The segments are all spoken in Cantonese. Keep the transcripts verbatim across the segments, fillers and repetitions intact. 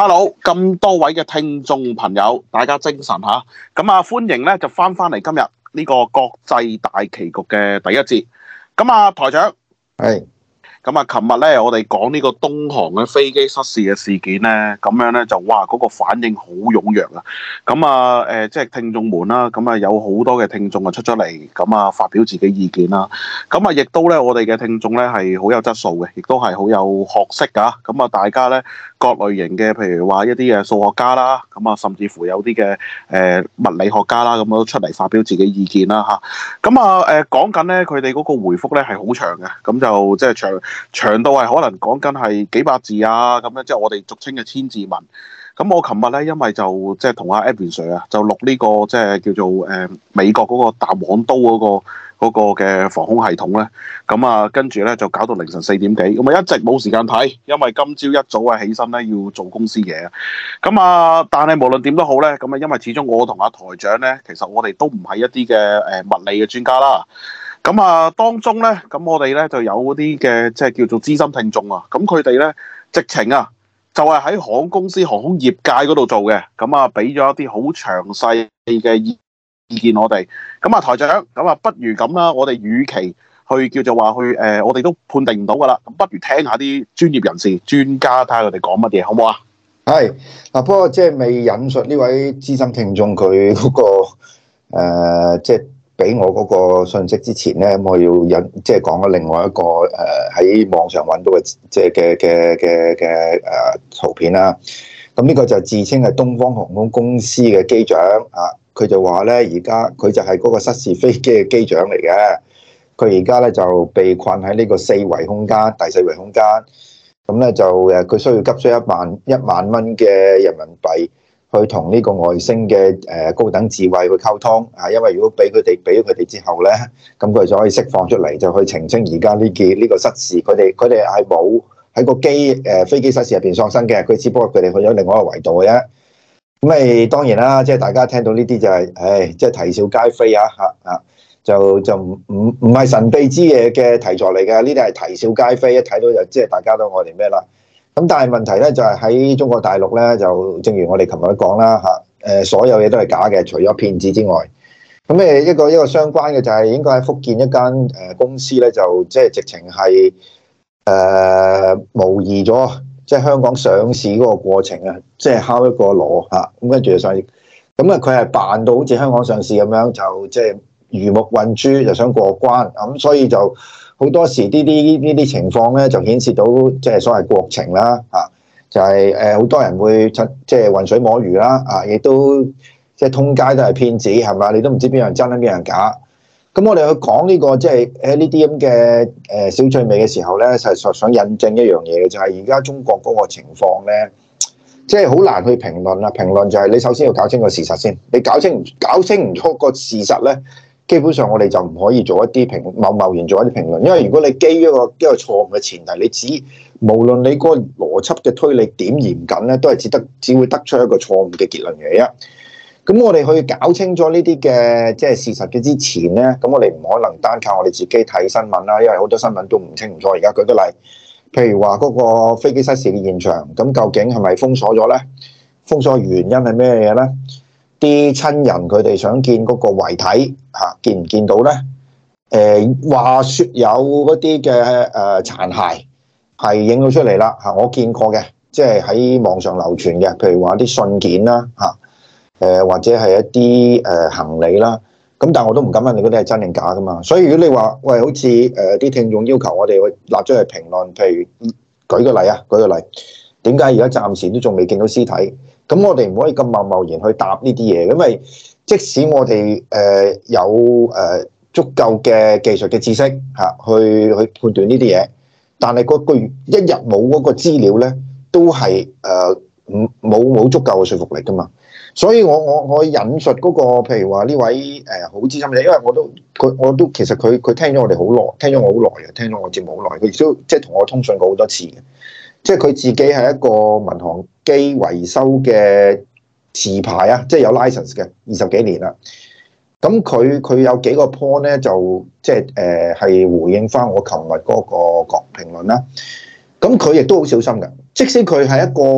Hello，咁多位嘅聽眾朋友，大家精神吓，咁啊歡迎咧就翻翻嚟今日呢個國際大棋局嘅第一節。咁啊台長， 係。 咁啊，琴日咧，我哋講呢個東航嘅飛機失事嘅事件咧，咁樣咧就哇嗰個反應好踴躍啊！咁啊誒，即係聽眾們啦，咁啊有好多嘅聽眾啊出咗嚟，咁啊發表自己意見啦。咁啊，亦都咧，我哋嘅聽眾咧係好有質素嘅，亦都係好有學識㗎。咁啊，大家咧各類型嘅，譬如話一啲嘅數學家啦，咁啊，甚至乎有啲嘅誒物理學家啦，咁都出嚟發表自己意見啦嚇。咁啊誒講緊咧，佢哋嗰個回覆咧係好長嘅，咁就即係長。長到係可能講緊係幾百字啊，咁樣即係我哋俗稱嘅千字文。咁我琴日咧，因為就即係同阿 Edwin Sir 啊，就錄呢個即係叫做誒、呃、美國嗰個彈簧刀嗰、嗰個嗰嘅、嗰個、防空系統咧。咁啊，跟住咧就搞到凌晨四點幾，咁啊一直冇時間睇，因為今朝一早啊起身咧要做公司嘢。咁啊，但係無論點都好咧，咁啊因為始終我同阿台長咧，其實我哋都唔係一啲嘅誒物理嘅專家啦。咁啊，當中咧，咁我哋咧就有嗰啲嘅，即係叫做資深聽眾啊。咁佢哋咧，直情啊，就係喺航空公司、航空業界嗰度做嘅。咁啊，俾咗一啲好詳細嘅意意見我哋。咁啊，台長，咁啊，不如咁啦，我哋與其去叫做話去誒、呃，我哋都判定唔到噶啦。咁不如聽下啲專業人士、專家睇下佢哋講乜嘢，好唔好啊？ 係嗱，不過即係未引述呢位資深聽眾佢嗰個誒，即係。俾我嗰個信息之前咧，我要引即係講咗另外一個誒喺、呃、網上揾到嘅即係嘅嘅嘅嘅誒圖片啦。咁呢個就自稱係東方航空公司嘅機長啊，佢就話咧而家佢就係嗰個失事飛機嘅機長嚟嘅。佢而家咧就被困喺呢個四維空間、第四維空間。咁咧就誒佢需要急需一萬一萬蚊嘅人民幣。去同呢個外星嘅誒高等智慧去溝通啊，因為如果俾佢哋俾咗佢哋之後咧，咁佢就可以釋放出嚟，就去澄清而家呢件呢個失事。佢哋佢哋係冇喺個機誒飛機失事入邊喪生嘅，佢只不過佢哋去咗另外一個維度嘅啫。咁咪當然啦，即係大家聽到呢啲就係，唉，即係啼笑皆非啊嚇啊！就就唔唔唔係神秘之夜嘅題材嚟嘅，呢啲係啼笑皆非，一睇到就即係大家都我哋咩啦。咁但係問題咧就係喺中國大陸咧，就正如我哋琴日都講啦嚇，誒所有嘢都係假嘅，除咗騙子之外。咁誒一個一個相關嘅就係應該喺福建一間誒公司咧，就即係直情係誒模擬咗即係香港上市嗰個過程啊，即係敲一個鑼嚇，咁跟住就上市。咁啊佢係扮到好似香港上市咁樣，就即係魚目混珠，就想過關咁，所以就。好多時呢啲呢啲情況咧，就顯示到即係所謂國情啦，啊，就係誒好多人會出即係渾水摸魚啦，啊，亦都即係通街都係騙子，係嘛？你都唔知邊樣真，邊樣假。咁我哋去講呢個即係誒呢啲咁嘅誒小趣味嘅時候咧，實實想印證一樣嘢嘅，就係而家中國嗰個情況咧，即係好難去評論啦。評論就係你首先要搞清個事實先，你搞清搞清唔出個事實咧。基本上我哋就唔可以做一啲評貿貿然做一啲評論，因為如果你基於一個一個錯誤嘅前提，你只無論你嗰個邏輯嘅推理點嚴謹咧，都係只得只會得出一個錯誤嘅結論嘅啫。咁我哋去搞清楚呢啲嘅即係事實嘅之前咧，咁我哋唔可能單靠我哋自己睇新聞啦，因為好多新聞都唔清唔楚。而家舉個例，譬如話嗰個飛機失事嘅現場，咁究竟係咪封鎖咗咧？封鎖原因係咩嘢咧？啲親人佢哋想見嗰個遺體嚇，見唔見到咧？誒話説有嗰啲嘅誒殘骸係影到出嚟啦嚇，我見過嘅，即係喺網上流傳嘅，譬如話啲信件啦嚇，誒或者係一啲誒行李啦，咁但係我都唔敢問你嗰啲係真定假噶嘛。所以如果你話喂，好似誒啲聽眾要求我哋去立咗去評論，譬如舉個例啊，舉個例，點解而家暫時都仲未見到屍體？咁我哋唔可以咁貿貿然去答呢啲嘢，因為即使我哋誒有誒足夠嘅技術嘅知識嚇，去去判斷呢啲嘢，但係嗰個一日冇嗰個資料咧，都係誒唔冇冇足夠嘅說服力噶嘛。所以我我我引述嗰個譬如話呢位誒好資深嘅，因為我都佢我都其實佢佢聽咗我哋好耐，聽咗我好耐嘅，聽咗我節目好耐，佢亦都即係同我通訊過好多次嘅。即係佢自己係一個民航機維修嘅持牌啊，即係有 license 嘅，二十幾年啦。咁佢佢有幾個 point 咧，就即係誒係回應翻我琴日嗰個講評論啦。咁佢亦都好小心嘅，即使佢係一個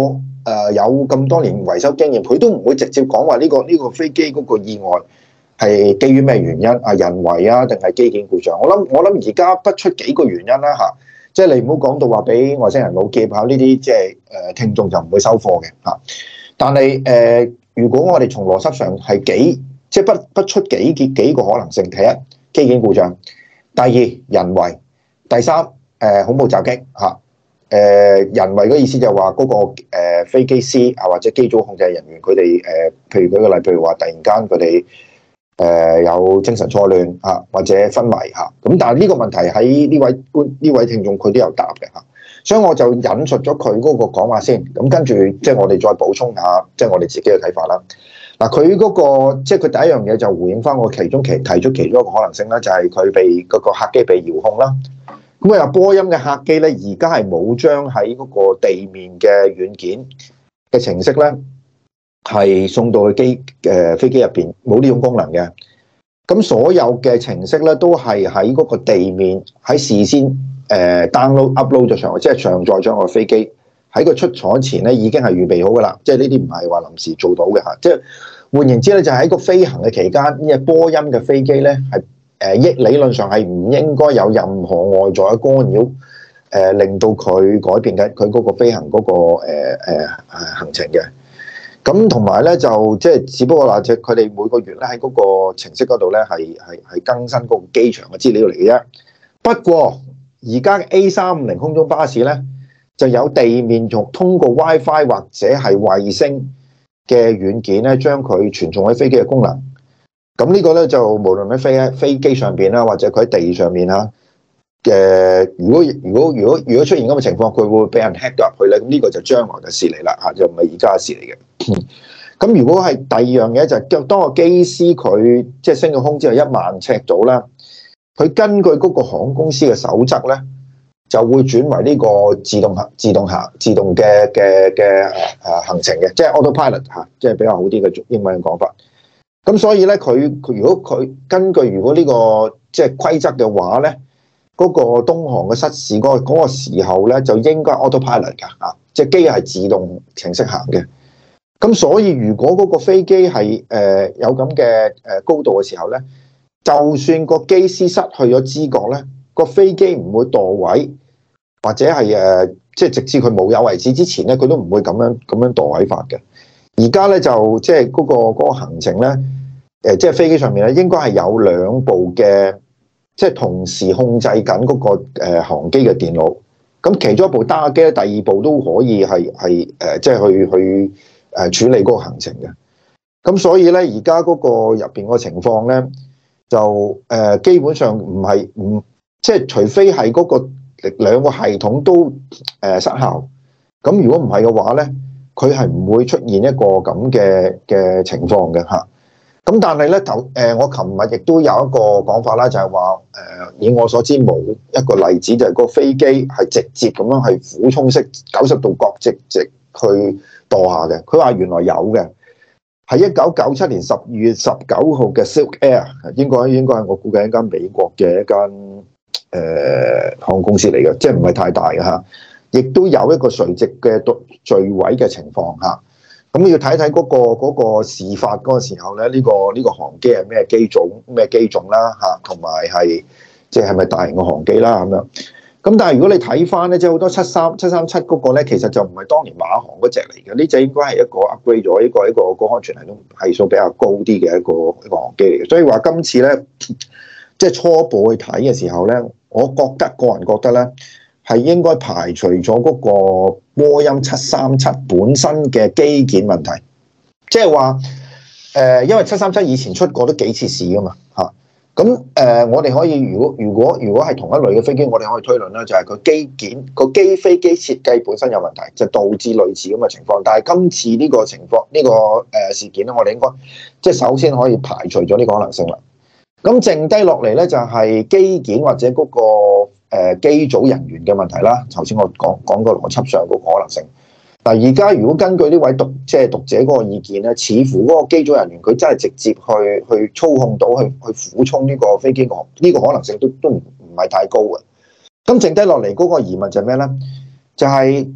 誒有咁多年維修經驗，佢都唔會直接講話呢個呢個飛機嗰個意外係基於咩原因啊？人為啊，定係機件故障？我諗我諗而家不出幾個原因啦嚇，即係你唔好講到話俾外星人老劫嚇呢啲，即係誒聽眾就唔會收貨嘅嚇。但係誒、呃，如果我哋從邏輯上係幾即係不不出幾幾幾個可能性，第一機件故障，第二人為，第三誒、呃、恐怖襲擊嚇。誒、呃、人為嘅意思就係話嗰個誒、呃、飛機師啊，或者機組控制人員佢哋誒，譬如舉個例，譬如話突然間佢哋誒有精神錯亂啊，或者昏迷嚇。咁、啊、但係呢個問題喺呢位觀呢位聽眾佢都有答嘅嚇、啊，所以我就引述咗佢嗰個講話先。咁、啊、跟住即係我哋再補充下，即係我哋自己嘅睇法啦。嗱、啊，佢嗰、那個即係佢第一樣嘢就回應翻我其中其提出其中一個可能性啦，就係、是、佢被嗰個客機被遙控啦。咁啊，波音嘅客機咧，而家係冇將喺嗰個地面嘅軟件嘅程式咧，係送到去機誒飛機入邊，冇呢種功能嘅。咁所有嘅程式咧，都係喺嗰個地面喺事先誒 download upload 咗上去，即係上載咗個飛機喺個出廠前咧，已經係預備好噶啦。即係呢啲唔係話臨時做到嘅嚇。即係換言之咧，就喺個飛行嘅期間，呢隻波音嘅飛機咧係。誒，亦理論上係唔應該有任何外在嘅干擾，誒、呃、令到佢改變緊佢嗰個飛行嗰、那個誒誒、呃呃、行程嘅。咁同埋咧就即係只不過話，即係佢哋每個月咧喺嗰個程式嗰度咧係係係更新嗰個機場嘅資料嚟嘅啫。不過而家嘅 A 三五零空中巴士咧就有地面仲通過 WiFi 或者係衛星嘅軟件咧，將佢傳送喺飛機嘅功能。咁呢個咧就無論喺飛飛機上邊啦，或者佢喺地上面嚇嘅，如果如果如果如果出現咁嘅情況，佢會俾人 hack 到入去咧。咁呢個就將來嘅事嚟啦嚇，就唔係而家嘅事嚟嘅。咁如果係第二樣嘢就係當個機師佢即係升咗空之後一萬尺度啦，佢根據嗰個航空公司嘅守則咧，就會轉為呢個自動行、自動行、自動嘅嘅嘅誒行程嘅，即係 autopilot 嚇，即係比較好啲嘅英文嘅講法。咁所以咧，佢佢如果佢根據如果呢個即係規則嘅話咧，嗰個東航嘅失事嗰個嗰個時候咧，就應該 autopilot 㗎啊，即係機係自動程式行嘅。咁所以如果嗰個飛機係誒有咁嘅誒高度嘅時候咧，就算個機師失去咗知覺咧，個飛機唔會墮位，或者係誒即係直至佢冇有為止之前咧，佢都唔會咁樣咁樣墮位法嘅。而家咧就即係嗰個嗰個行程咧，誒即係飛機上面咧應該係有兩部嘅，即係同時控制緊嗰個誒航機嘅電腦。咁其中一部單機咧，第二部都可以係係誒即係去去誒處理嗰個行程嘅。咁所以咧，而家嗰個入邊個情況咧，就誒基本上唔係唔即係除非係嗰個兩個系統都誒失效。咁如果唔係嘅話咧，佢係唔會出現一個咁嘅嘅情況嘅嚇。咁但係咧頭誒，我琴日亦都有一個講法啦，就係話誒，以我所知冇一個例子，就係個飛機係直接咁樣係俯衝式九十度角直直去墮下嘅。佢話原來有嘅，係一九九七年十二月十九號嘅 Silk Air，應該應該係我估計一間美國嘅一間誒航空公司嚟嘅，即係唔係太大嘅嚇。亦都有一個垂直嘅墜毀嘅情況嚇，咁要睇睇嗰個嗰個事發嗰個時候咧，呢個呢個航機係咩機種咩機種啦嚇，同埋係即係係咪大型嘅航機啦咁樣。咁但係如果你睇翻咧，即係好多七三七三七嗰個咧，其實就唔係當年馬航嗰隻嚟嘅，呢隻應該係一個 upgrade 咗，呢個一個個安全系統係數比較高啲嘅一個一個航機嚟嘅。所以話今次咧，即係初步去睇嘅時候咧，我覺得個人覺得咧，係應該排除咗嗰個波音七三七本身嘅機件問題，即係話誒，因為七三七以前出過都幾次事噶嘛嚇，咁、啊、誒、呃，我哋可以如果如果如果係同一類嘅飛機，我哋可以推論啦，就係佢機件個機飛機設計本身有問題，就導致類似咁嘅情況。但係今次呢個情況呢、呢個誒事件咧，我哋應該即係首先可以排除咗呢個可能性啦。咁剩低落嚟咧，就係機件或者嗰、嗰個。誒機組人員嘅問題啦，頭先我講講個邏輯上個可能性。嗱，而家如果根據呢位讀即係讀者嗰個意見咧，似乎嗰個機組人員佢真係直接去去操控到去去俯衝呢個飛機個呢個可能性都都唔唔係太高嘅。咁剩低落嚟嗰個疑問就係咩咧？就係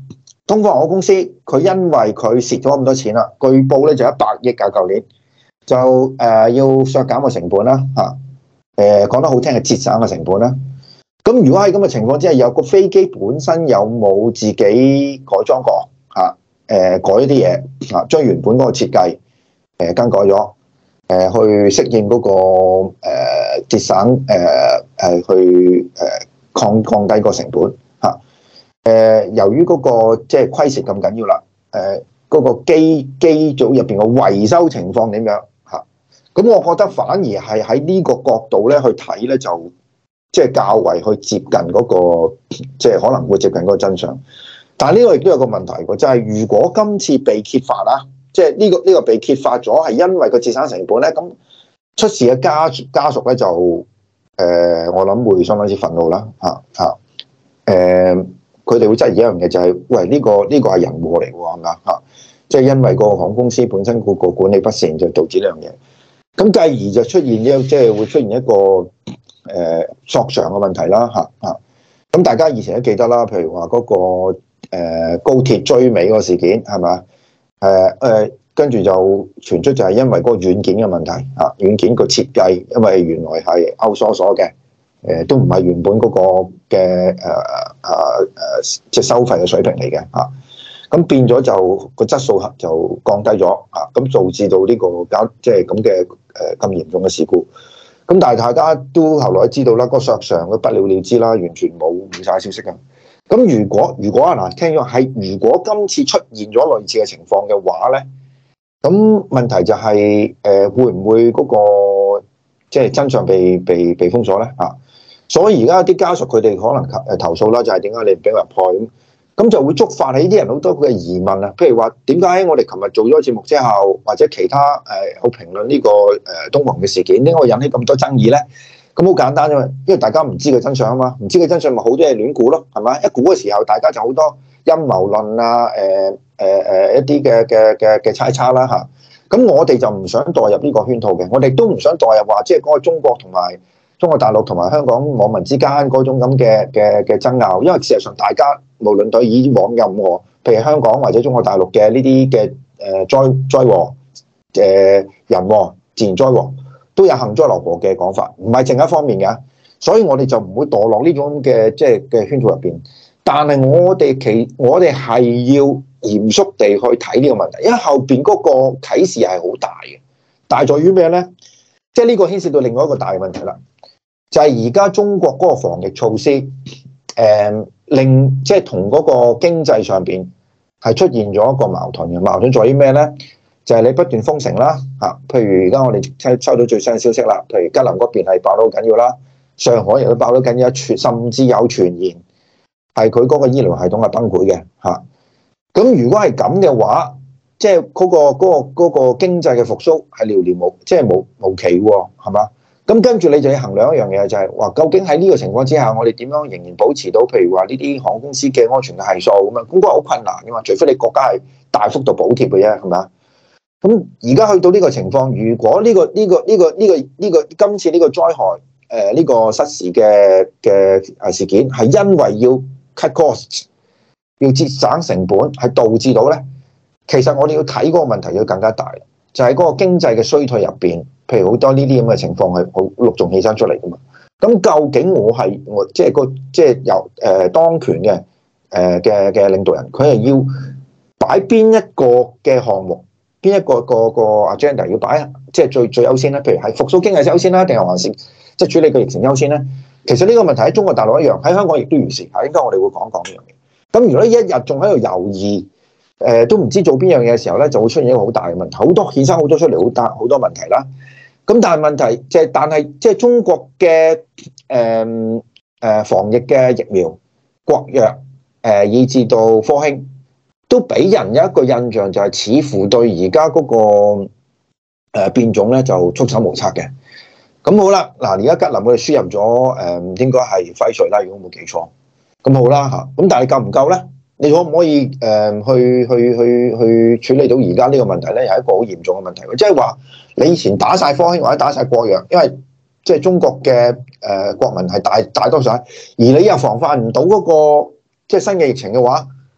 東方航空公司佢因為佢蝕咗咁多錢啦，據報咧就一百億㗎，舊年就誒、呃、要削減個成本啦嚇，誒、啊、講得好聽係節省個成本啦。咁如果喺咁嘅情況之下，有個飛機本身有冇自己改裝過嚇？誒、啊呃、改一啲嘢嚇，將原本嗰個設計誒、呃、更改咗，誒、呃、去適應嗰、那個誒、呃、節省誒誒、呃、去誒降降低個成本嚇。誒、啊呃、由於嗰、那個即係虧蝕咁緊要啦，誒、呃、嗰、那個機機組入邊嘅維修情況點樣嚇？咁、啊、我覺得反而係喺呢個角度咧去睇咧就。即係較為去接近嗰、那個，即係可能會接近嗰個真相。但係呢個亦都有個問題喎，就係、是、如果今次被揭發啦，即係呢個呢、這個被揭發咗係因為個節省成本咧，咁出事嘅家家屬咧就誒、呃，我諗會相當之憤怒啦，嚇嚇誒，佢、呃、哋會質疑一樣嘢就係、是，喂呢、這個呢、這個係人禍嚟喎，係咪啊？嚇，即係因為個航空公司本身個個管理不善，就導致呢樣嘢。咁繼而就出現咗，即係會出現一個。誒、呃、索償嘅問題啦，嚇嚇咁大家以前都記得啦，譬如話嗰、那個、呃、高鐵追尾嗰個事件係咪？誒誒跟住就傳出就係因為嗰個軟件嘅問題嚇、啊，軟件個設計因為原來係 outsource 嘅，誒、呃、都唔係原本嗰個嘅誒誒誒即係收費嘅水平嚟嘅嚇，咁、啊、變咗就個質素就降低咗嚇，咁、啊、導致到呢個搞即係咁嘅誒咁嚴重嘅事故。咁但係大家都後來知道啦，嗰個索償佢不了了之啦，完全冇冇晒消息嘅。咁如果如果啊嗱，聽咗係如果今次出現咗類似嘅情況嘅話咧，咁問題就係、是、誒、呃、會唔會嗰、那個即係、就是、真相被被被封鎖咧嚇？所以而家啲家屬佢哋可能誒投訴啦，就係點解你唔俾我入去咁？咁就會觸發起啲人好多嘅疑問啊，譬如話點解我哋琴日做咗節目之後，或者其他誒好評論呢個誒東航嘅事件，點解會引起咁多爭議咧？咁好簡單啫嘛，因為大家唔知個真相啊嘛，唔知個真相咪好多嘢亂估咯，係咪？一估嘅時候，大家就好多陰謀論啊，誒誒誒一啲嘅嘅嘅嘅猜測啦嚇。咁我哋就唔想墮入呢個圈套嘅，我哋都唔想墮入話即係嗰個中國同埋中國大陸同埋香港網民之間嗰種咁嘅嘅嘅爭拗，因為事實上大家無論對以往任何，譬如香港或者中國大陸嘅呢啲嘅誒災災禍、誒人禍、自然災禍，都有幸災樂禍嘅講法，唔係淨一方面嘅，所以我哋就唔會墮落呢種嘅即係嘅圈套入邊。但係我哋其我哋係要嚴肅地去睇呢個問題，因為後邊嗰個啟示係好大嘅，大在於咩咧？即係呢個牽涉到另外一個大嘅問題啦。就係而家中國嗰個防疫措施，誒、呃、令即係同嗰個經濟上邊係出現咗一個矛盾嘅。矛盾在於咩咧？就係、是、你不斷封城啦，嚇，譬如而家我哋收收到最新嘅消息啦，譬如吉林嗰邊係爆得好緊要啦，上海亦都爆得緊要，甚至有傳言係佢嗰個醫療系統係崩潰嘅，嚇。咁如果係咁嘅話，即係嗰個嗰、嗰個嗰、嗰個經濟嘅復甦係寥寥無，即係無無期喎，係嘛？咁跟住你就要衡量一樣嘢，就係話究竟喺呢個情況之下，我哋點樣仍然保持到，譬如話呢啲航空公司嘅安全嘅係數咁樣，咁嗰個好困難噶嘛，除非你國家係大幅度補貼嘅啫，係咪？咁而家去到呢個情況，如果呢個呢個呢個呢個呢個今次呢個災害誒呢個失事嘅嘅誒事件係因為要 cut costs， 要節省成本，係導致到咧，其實我哋要睇嗰個問題要更加大，就係嗰個經濟嘅衰退入邊。譬如好多呢啲咁嘅情況係好陸續起身出嚟噶嘛，咁究竟我係我即係個即係由誒當權嘅誒嘅嘅領導人，佢係要擺邊一個嘅項目，邊一個個個 agenda 要擺即係最最優先咧？譬如係復甦經濟優先啦，定係還是即係處理個疫情優先咧？其實呢個問題喺中國大陸一樣，喺香港亦都如是。係應該我哋會講講呢樣嘢。咁如果一日仲喺度猶豫，誒、呃、都唔知做邊樣嘢嘅時候咧，就會出現一個好大嘅問題，好多衍生好多出嚟好大好多問題啦。咁但係問題即係，但係即係中國嘅誒誒防疫嘅疫苗、國藥誒、呃，以至到科興，都俾人有一個印象，就係似乎對而家嗰個誒、呃、變種咧就束手無策嘅。咁好啦，嗱而家吉林我哋輸入咗誒、呃，應該係輝瑞啦，如果冇記錯。咁好啦嚇，咁但係夠唔夠咧？你可唔可以誒、呃、去去去去處理到而家呢個問題咧？係一個好嚴重嘅問題，即係話你以前打晒科興或者打晒國藥，因為即係中國嘅誒、呃、國民係大大多數，而你又防範唔到嗰個即係新嘅疫情嘅話，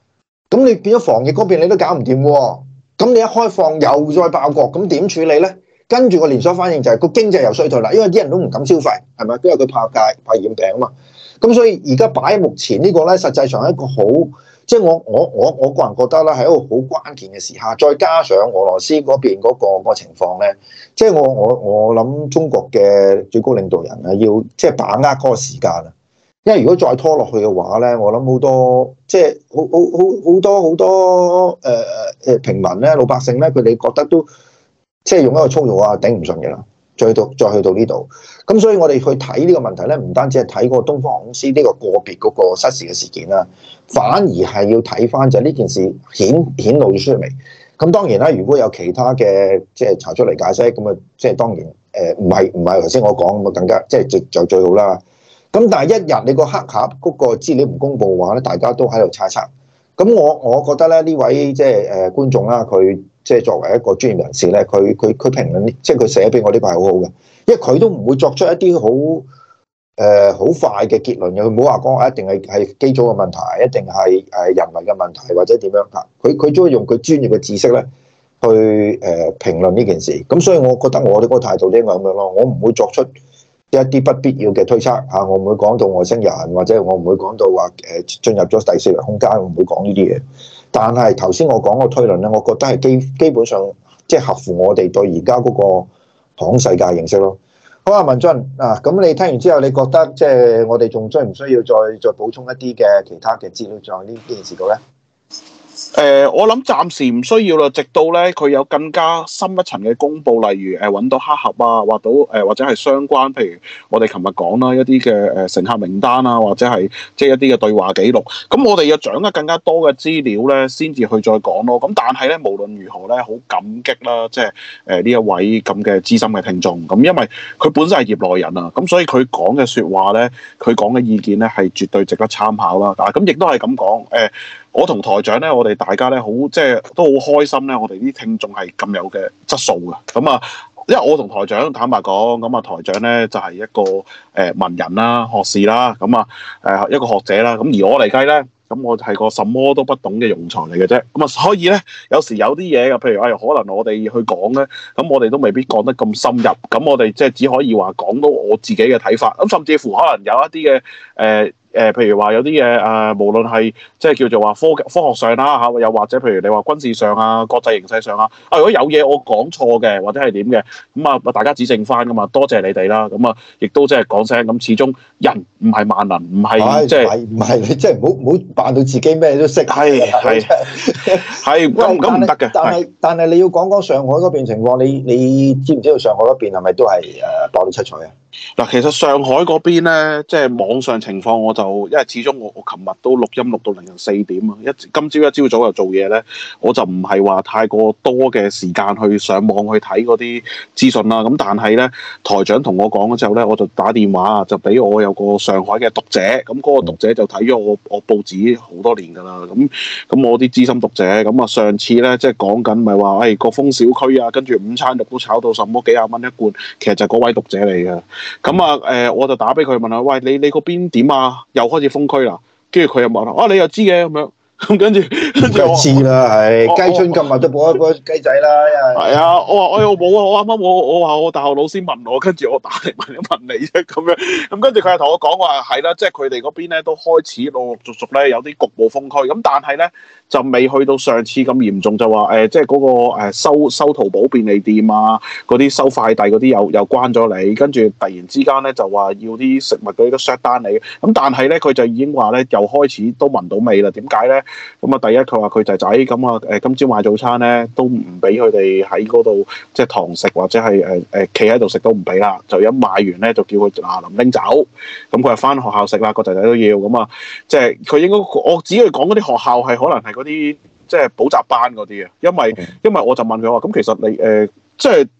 咁你變咗防疫嗰邊你都搞唔掂喎，咁你一開放又再爆國，咁點處理咧？跟住個連鎖反應就係個經濟又衰退啦，因為啲人都唔敢消費，係咪？因為佢怕戒怕染病啊嘛。咁所以而家擺喺目前呢個咧，實際上係一個好，即係我我我我個人覺得咧，係一個好關鍵嘅時刻。再加上俄羅斯嗰邊嗰個個情況咧，即係我我我諗中國嘅最高領導人啊，要即係把握嗰個時間啊。因為如果再拖落去嘅話咧，我諗好多即係好好好好多好多誒誒平民咧、老百姓咧，佢哋覺得都即係用一個粗魯啊，頂唔順嘅啦。再去到再去到呢度，咁所以我哋去睇呢個問題咧，唔單止係睇個東方航空公司呢個個別嗰個失事嘅事件啦，反而係要睇翻就係呢件事顯顯露咗出嚟。咁當然啦，如果有其他嘅即係查出嚟解釋，咁啊即係當然誒唔係唔係頭先我講咁啊，更加即係就就最好啦。咁但係一日你個黑盒嗰個資料唔公佈嘅話咧，大家都喺度猜測。咁我我覺得咧呢位即係誒觀眾啦，佢即係作為一個專業人士咧，佢佢佢評論，即係佢寫俾我呢個係好好嘅，因為佢都唔會作出一啲好誒好快嘅結論嘅，佢唔好話講一定係係機組嘅問題，一定係誒人為嘅問題或者點樣嚇，佢佢都會用佢專業嘅知識咧去誒評論呢件事。咁所以我覺得我哋嗰個態度應該咁樣咯，我唔會作出一啲不必要嘅推測嚇，我唔會講到外星人，或者我唔會講到話誒進入咗第四維空間，我唔會講呢啲嘢。但係頭先我講個推論咧，我覺得係基基本上即係合乎我哋對而家嗰個航空世界認識咯。好啊，文進啊，咁你聽完之後，你覺得即係我哋仲需唔需要再再補充一啲嘅其他嘅資料在呢呢件事度咧？ 誒、呃，我諗暫時唔需要啦，直到咧佢有更加深一層嘅公佈，例如誒揾、呃、到黑盒啊，或到誒、呃、或者係相關，譬如我哋琴日講啦一啲嘅誒乘客名單啊，或者係即係一啲嘅對話記錄，咁我哋要掌握更加多嘅資料咧，先至去再講咯。咁但係咧，無論如何咧，好感激啦，即係誒呢一位咁嘅資深嘅聽眾，咁因為佢本身係業內人啊，咁所以佢講嘅説話咧，佢講嘅意見咧係絕對值得參考啦。啊，咁亦都係咁講誒。呃我同台長咧，我哋大家咧好即係都好開心咧，我哋啲聽眾係咁有嘅質素嘅。咁啊，因為我同台長坦白講，咁啊台長咧就係、是、一個誒、呃、文人啦、學士啦，咁啊誒一個學者啦。咁而我嚟計咧，咁我係個什麼都不懂嘅庸才嚟嘅啫。咁啊，所以咧有時有啲嘢嘅，譬如誒、哎、可能我哋去講咧，咁我哋都未必講得咁深入。咁我哋即係只可以話講到我自己嘅睇法。咁甚至乎可能有一啲嘅誒。呃誒、呃，譬如話有啲嘢誒，無論係即係叫做話科科學上啦嚇，又或者譬如你話軍事上啊、國際形勢上啊，啊如果有嘢我講錯嘅，或者係點嘅，咁啊大家指正翻噶嘛，多謝你哋啦，咁啊亦都即係講聲，咁始終人唔係萬能，唔係即係唔係你即係唔好唔好扮到自己咩都識， 係係係咁咁唔得嘅。 但係但係你要講講上海嗰邊情況，你你知唔知道上海嗰邊係咪都係誒爆到七彩啊？ 嗱，其實上海嗰邊咧，即係網上情況，我就因為始終我我琴日都錄音錄到凌晨四點啊，一今朝一朝早又做嘢咧，我就唔係話太過多嘅時間去上網去睇嗰啲資訊啦。咁但係咧，台長同我講咗之後咧，我就打電話就俾我有個上海嘅讀者，咁嗰個讀者就睇咗我我報紙好多年㗎啦。咁咁我啲資深讀者，咁啊上次咧即係講緊咪話誒國風小區啊，跟住午餐肉都炒到什麼幾廿蚊一罐，其實就係嗰位讀者嚟嘅。咁啊，誒、呃，我就打俾佢問下，喂，你你嗰邊點啊？又開始封區啦，跟住佢又問啊，你又知嘅咁樣，咁跟住跟住我知啦，係雞春今日都播一播雞仔啦，因為係啊，我話我又冇啊，我啱啱我我話我大學老師問我，跟住我打嚟問一問你啫，咁樣，咁跟住佢又同我講話係啦，即係佢哋嗰邊咧都開始陸陸續續咧有啲局部封區，咁但係咧就未去到上次咁嚴重，就話誒、呃，即係嗰、那個、呃、收收淘寶便利店啊，嗰啲收快遞嗰啲又又關咗你，跟住突然之間咧就話要啲食物嗰啲都 shut down 你，咁但係咧佢就已經話咧又開始都聞到味啦，點解咧？咁啊，第一佢話佢仔仔咁啊，誒今朝買早餐咧都唔俾佢哋喺嗰度即係堂食或者係誒誒企喺度食都唔俾啦，就一買完咧就叫佢嗱臨拎走，咁佢係翻學校食啦，個仔仔都要咁啊，即係佢應該我只係講嗰啲學校係可能係嗰啲即係補習班嗰啲啊，因為因為我就問佢話咁其實你誒、呃、即係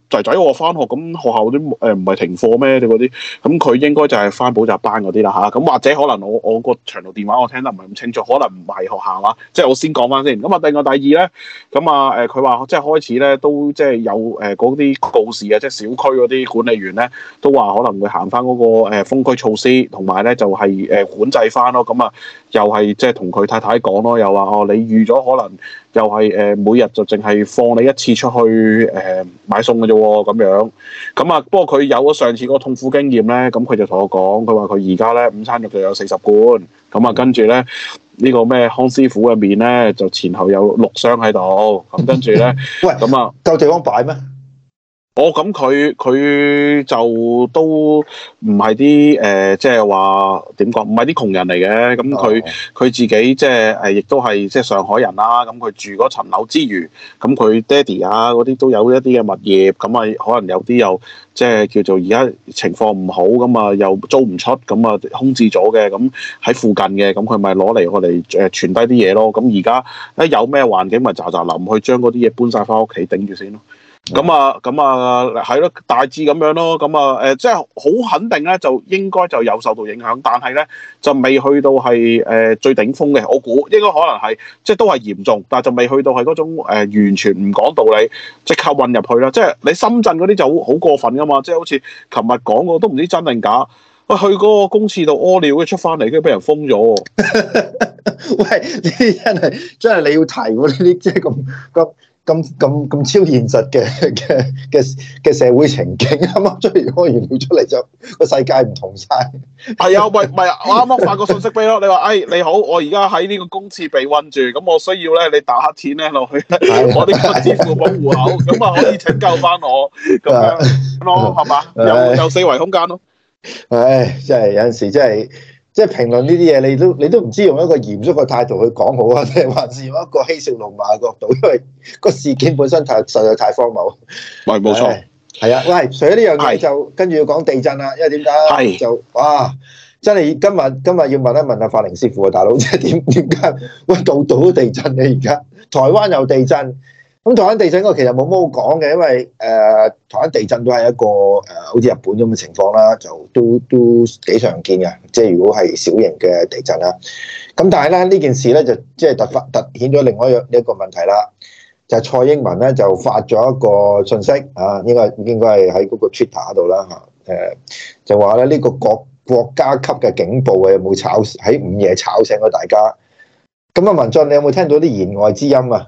仔仔我翻學，咁學校啲誒唔係停課咩？你嗰啲，咁佢應該就係翻補習班嗰啲啦嚇。咁、啊、或者可能我我個長途電話我聽得唔係咁清楚，可能唔係學校啊。即係我先講翻先。咁啊，另外第二咧，咁啊誒，佢、呃、話即係開始咧都即係有誒嗰啲告示啊，即係小區嗰啲管理員咧都話可能會行翻嗰個誒封區措施，同埋咧就係、是、誒管制翻咯。咁啊，又係即係同佢太太講咯，又話哦，你預咗可能又係誒、呃、每日就淨係放你一次出去誒、呃、買餸嘅啫喎，咁樣。咁啊，不過佢有咗上次嗰個痛苦經驗咧，咁佢就同我講，佢話佢而家咧午餐肉就有四十罐，咁啊跟住咧呢、呢個咩康師傅嘅麵咧就前後有六箱喺度，咁跟住咧， 喂， 咁啊夠地方擺咩？ 哦，咁佢佢就都唔係啲誒，即係話點講，唔係啲窮人嚟嘅。咁佢佢自己即係誒，亦都係即係上海人啦。咁佢住嗰層樓之餘，咁佢爹哋啊嗰啲都有一啲嘅物業。咁啊，可能有啲又即係叫做而家情況唔好，咁啊又租唔出，咁啊空置咗嘅。咁喺附近嘅，咁佢咪攞嚟我哋誒傳低啲嘢咯。咁而家一有咩環境，咪喳喳臨去將嗰啲嘢搬晒翻屋企頂住先咯。咁啊，咁啊，係咯，大致咁樣咯。咁啊，誒，即係好肯定咧，就應該就有受到影響，但係咧就未去到係誒、呃、最頂峰嘅。我估應該可能係即係都係嚴重，但係就未去到係嗰種、呃、完全唔講道理，即刻混入去啦。即係你深圳嗰啲就好好過分噶嘛，即係好似琴日講過都唔知真定假。喂，去嗰個公廁度屙尿，跟住出翻嚟，跟住俾人封咗。 喂，呢啲真係真係你要提喎，呢啲即係咁咁。咁咁咁超現實嘅嘅嘅嘅社會情景，啱啱出嚟屙完尿出嚟就個世界唔同晒。 係啊，喂，唔係我啱啱發個信息俾咯，你話，哎，你好，我而家喺呢個公廁被韞住，咁我需要咧你打黑錢咧落去，我呢個支付寶戶口，咁啊可以拯救翻我，咁樣咯，係嘛？有有四維空間咯。 唉，真係有陣時真係。即係評論呢啲嘢，你都你都唔知用一個嚴肅嘅態度去講好啊，定係還是用一個嬉笑怒罵嘅角度？因為個事件本身太實在太荒謬。 喂，冇錯。 係啊，喂，除咗呢樣嘢就跟住要講地震啦，因為點解？就哇，真係今日今日要問一問阿法寧師傅啊，大佬，即係點點解？喂，度度都地震你而家，台灣有地震。咁台灣地震嗰個其實冇乜好講嘅，因為誒、呃、台灣地震都係一個誒、呃、好似日本咁嘅情況啦，就都都幾常見嘅。即係如果係小型嘅地震啦，咁但係咧呢件事咧就即係突發突顯咗另外一樣一個問題啦，就係、是、蔡英文咧就發咗一個訊息啊，應該應該係喺嗰個 Twitter 度啦嚇，誒就話咧呢個國國家級嘅警報啊，有冇吵喺午夜吵醒咗大家？咁啊，文進你有冇聽到啲言外之音啊？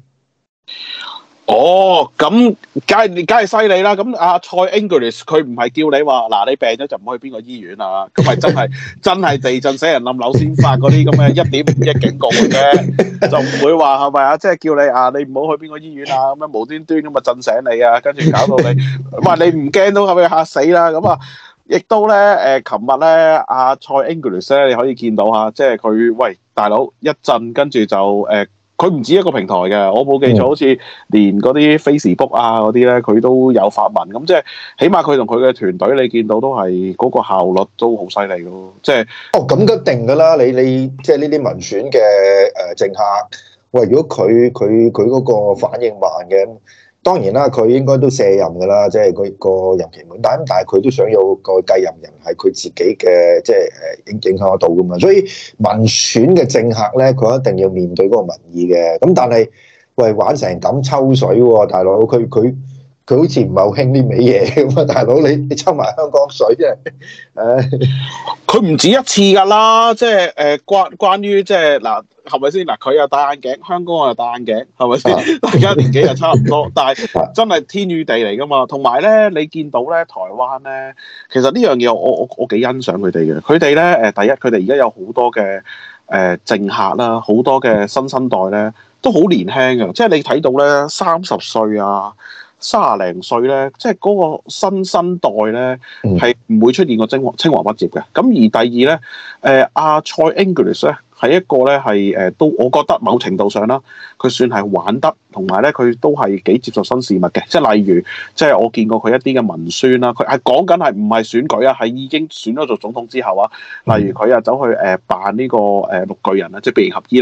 哦，咁梗係梗係犀利啦！咁阿蔡 English 佢唔係叫你話嗱，你病咗就唔好去邊個醫院啊？咁係真係真係地震死人冧樓先發嗰啲咁嘅一點五億警告嘅，就唔會話係咪啊？即係叫你啊，你唔好去邊個醫院啊？咁樣無端端咁啊震醒你啊，跟住搞到你，哇！你唔驚都係咪嚇死啦？咁啊，亦都咧誒，琴日咧阿蔡 English 咧，你可以見到嚇，即係佢喂大佬一震，跟住就誒。佢唔止一個平台嘅，我冇記錯，好似連嗰啲 Facebook 啊嗰啲咧，佢都有發文。咁即係起碼佢同佢嘅團隊，你見到都係嗰個效率都好犀利咯。即係哦，咁一定㗎啦！你你即係呢啲民選嘅誒政客，喂，如果佢佢佢嗰個反應慢嘅，當然啦，佢應該都卸任㗎啦，即係佢個任期滿。但係但係佢都想有個繼任人係佢自己嘅，即係誒影影響得到㗎嘛。所以民選嘅政客咧，佢一定要面對嗰個民意嘅。咁但係喂，玩成咁抽水喎，大佬，佢佢佢好似唔係好興呢味嘢咁啊，大佬，你你抽埋香港水啫，誒，佢唔止一次㗎啦，即係誒關關於即係嗱。係咪先嗱？佢又戴眼鏡，香港又戴眼鏡，係咪先？大家年紀又差唔多，但係真係天與地嚟㗎嘛。同埋咧，你見到咧，台灣咧，其實呢樣嘢我我我幾欣賞佢哋嘅。佢哋咧誒，第一佢哋而家有好多嘅誒、呃、政客啦，好多嘅新生代咧，都好年輕嘅。即係你睇到咧，三十歲啊，三廿零歲咧，即係嗰個新生代咧，係唔會出現個青黃青黃不接嘅。咁而第二咧，誒、呃、阿蔡 English 咧。係一個咧，係誒都，我覺得某程度上啦，佢算係玩得，同埋咧佢都係幾接受新事物嘅。即係例如，即係我見過佢一啲嘅文宣啦，佢係講緊係唔係選舉啊，係已經選咗做總統之後啊。例如佢啊走去誒扮呢個誒綠巨人啊，即係變形俠醫啦。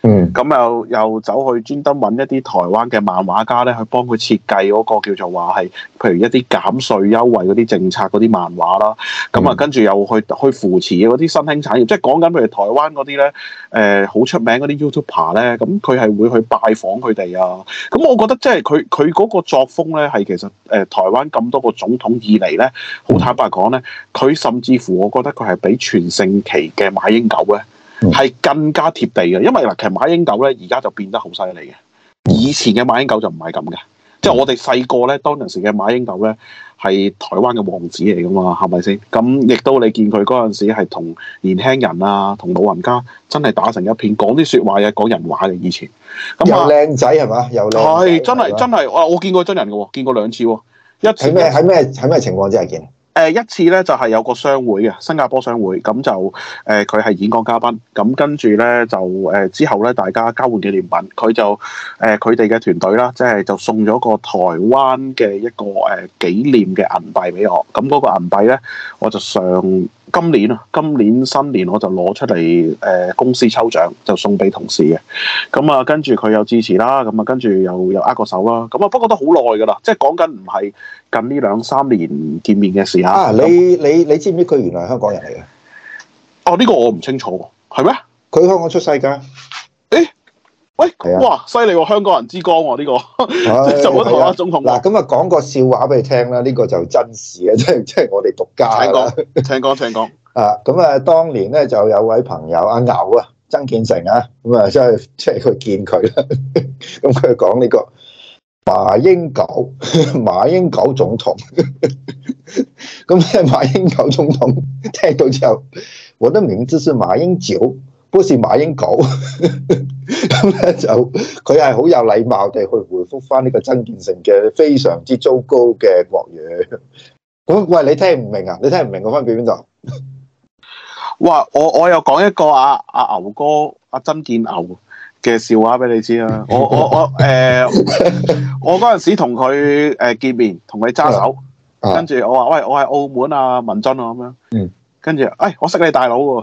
嗯， 咁又又走去專登揾一啲台灣嘅漫畫家咧，去幫佢設計嗰個叫做話係，譬如一啲減稅優惠嗰啲政策嗰啲漫畫啦。咁啊，跟住又去去扶持嗰啲新興產業，即係講緊譬如台灣嗰啲咧，誒好出名嗰啲 YouTuber 咧，咁佢係會去拜訪佢哋啊。咁我覺得即係佢佢嗰個作風咧，係其實誒、呃、台灣咁多個總統以嚟咧，好坦白講咧，佢甚至乎我覺得佢係比全盛期嘅馬英九咧，係更加貼地嘅。因為嗱，其實馬英九咧而家就變得好犀利嘅，以前嘅馬英九就唔係咁嘅。即係我哋細個咧，當陣時嘅馬英九咧係台灣嘅王子嚟噶嘛，係咪先？咁亦都你見佢嗰陣時係同年輕人啊，同老人家真係打成一片，講啲説話嘅，講人話嘅以前。咁又靚仔係嘛？又靚係真係真係，我我見過真人嘅喎，見過兩次喎。一次喺咩喺咩喺咩情況之下見？ 誒、呃、一次咧就係、是、有個商會嘅新加坡商會，咁就誒佢係演講嘉賓，咁跟住咧就誒、呃、之後咧大家交換紀念品，佢就誒佢哋嘅團隊啦，即係就送咗個台灣嘅一個誒、呃、紀念嘅銀幣俾我，咁嗰個銀幣咧我就上今年啊，今年新年我就攞出嚟誒、呃、公司抽獎就送俾同事嘅，咁啊跟住佢又支持啦，咁啊跟住又又握個手啦，咁啊不過都好耐㗎啦，即係講緊唔係近呢兩三年見面嘅事。 啊！你你你知唔知佢原來係香港人嚟嘅？ 哦，呢、這個我唔清楚喎，係咩？ 佢香港出世㗎。誒， 喂， 係啊， 哇，犀利喎！香港人之光喎，呢、這個就嗰台灣總統。 嗱，咁啊講個笑話俾你聽啦，呢、這個就真事嘅，即係即係我哋獨家啦。請講，請講，請講。 啊，咁啊，當年咧就有位朋友阿牛啊，曾建成啊，咁啊，即係即係佢見佢啦。咁佢講呢個馬英九，馬英九總統。咁咧，馬英九總統聽到之後，我的名字是馬英九，不是馬英九。咁咧就佢係好有禮貌地去回覆翻呢個曾建成嘅非常之糟糕嘅國語。咁喂，你聽唔明啊？你聽唔明個分別邊度？ 哇！我我又講一個阿阿、啊、牛哥阿、啊、曾建牛嘅笑話俾你知啊！我我我誒、呃，我嗰陣時同佢誒見面，同佢揸手。跟住我話喂，我係澳門啊文津啊咁樣。嗯。跟住，誒，我識你大佬喎。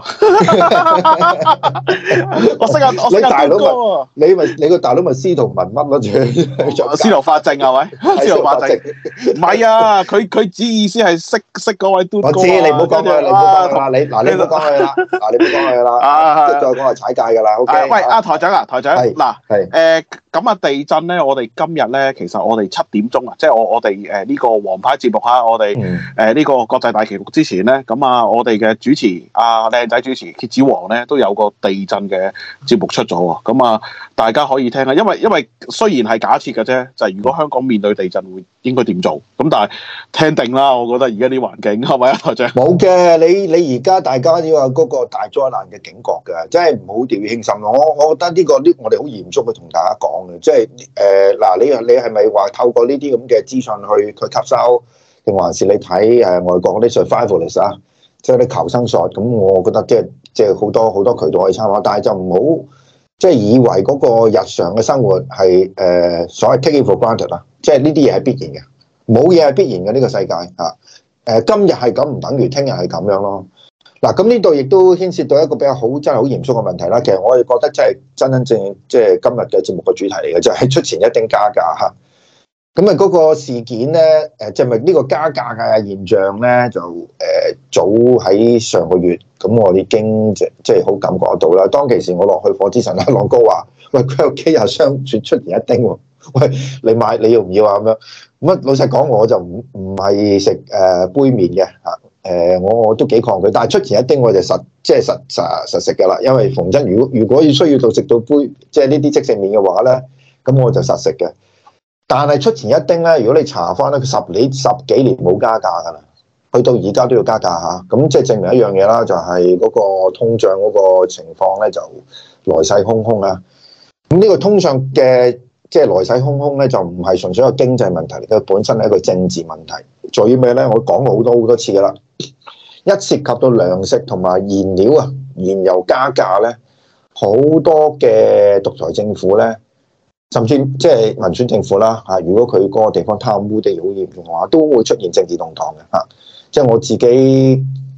我識啊，我識大佬喎。你咪你個大佬咪司徒文乜咯？仲司徒法正係咪？司徒法正。唔係啊，佢佢指意思係識識嗰位嘟哥。我知你唔好講佢，你唔好講佢啦。你嗱你唔好講佢啦。嗱你唔好講佢啦。啊，再講係踩界㗎啦。O K。喂，阿台長啊，台長。係。嗱，係。誒。咁啊，地震咧，我哋今日咧，其實我哋七點鐘啊，即係我我哋誒呢個王牌節目嚇，我哋誒呢個國際大棋局之前咧，咁啊，我哋嘅主持阿靚仔主持蠍子王咧，都有個地震嘅節目出咗喎，咁啊，大家可以聽下，因為因為雖然係假設嘅啫，就係如果香港面對地震會應該點做，咁但係聽定啦，我覺得而家啲環境係咪啊，台長？冇嘅，你你而家大家要有嗰個大災難嘅警覺㗎，真係唔好掉以輕心咯。我我覺得呢個呢，我哋好嚴肅去同大家講。即係誒嗱，你你係咪話透過呢啲咁嘅資訊去去吸收，定還是你睇誒外國嗰啲 survivalist 啊，即係啲求生術？咁我覺得即係即係好多好多渠道可以參考，但係就唔好即係以為嗰個日常嘅生活係誒、呃、所謂 take it for granted 啦，即係呢啲嘢係必然嘅，冇嘢係必然嘅呢個世界嚇。誒今日係咁唔等於聽日係咁樣咯。嗱，咁呢度亦都牽涉到一個比較好真係好嚴肅嘅問題啦。其實我哋覺得真係真真正正即係今日嘅節目嘅主題嚟嘅，就係出前一丁加價嚇。咁啊嗰個事件咧，誒即係咪呢個加價嘅現象咧，就誒早喺上個月，咁我已經即即係好感覺得到啦。當其時我落去火之神阿朗哥話：喂，佢有幾日商轉出前一丁喎？喂，你買你要唔要啊？咁樣咁啊，老實講我就唔唔係食誒杯麵嘅嚇。誒、呃，我我都幾抗拒，但係出前一丁我就實即係實實實食㗎啦。因為逢真，如果如果要需要到食到杯即係呢啲即食麵嘅話咧，咁我就實食嘅。但係出前一丁咧，如果你查翻咧，佢十年十幾年冇加價㗎啦，去到而家都要加價嚇。咁即係證明一樣嘢啦，就係、是、嗰個通脹嗰個情況咧就來勢洶洶啊。咁呢個通脹嘅即係來勢洶洶咧，就唔係純粹一個經濟問題，佢本身係一個政治問題。在於咩咧？我講過好多好多次㗎啦。一涉及到糧食同埋燃料啊，燃油加價咧，好多嘅獨裁政府咧，甚至即係民選政府啦嚇，如果佢嗰個地方貪污地好嚴重嘅話，都會出現政治動盪嘅嚇。即係我自己即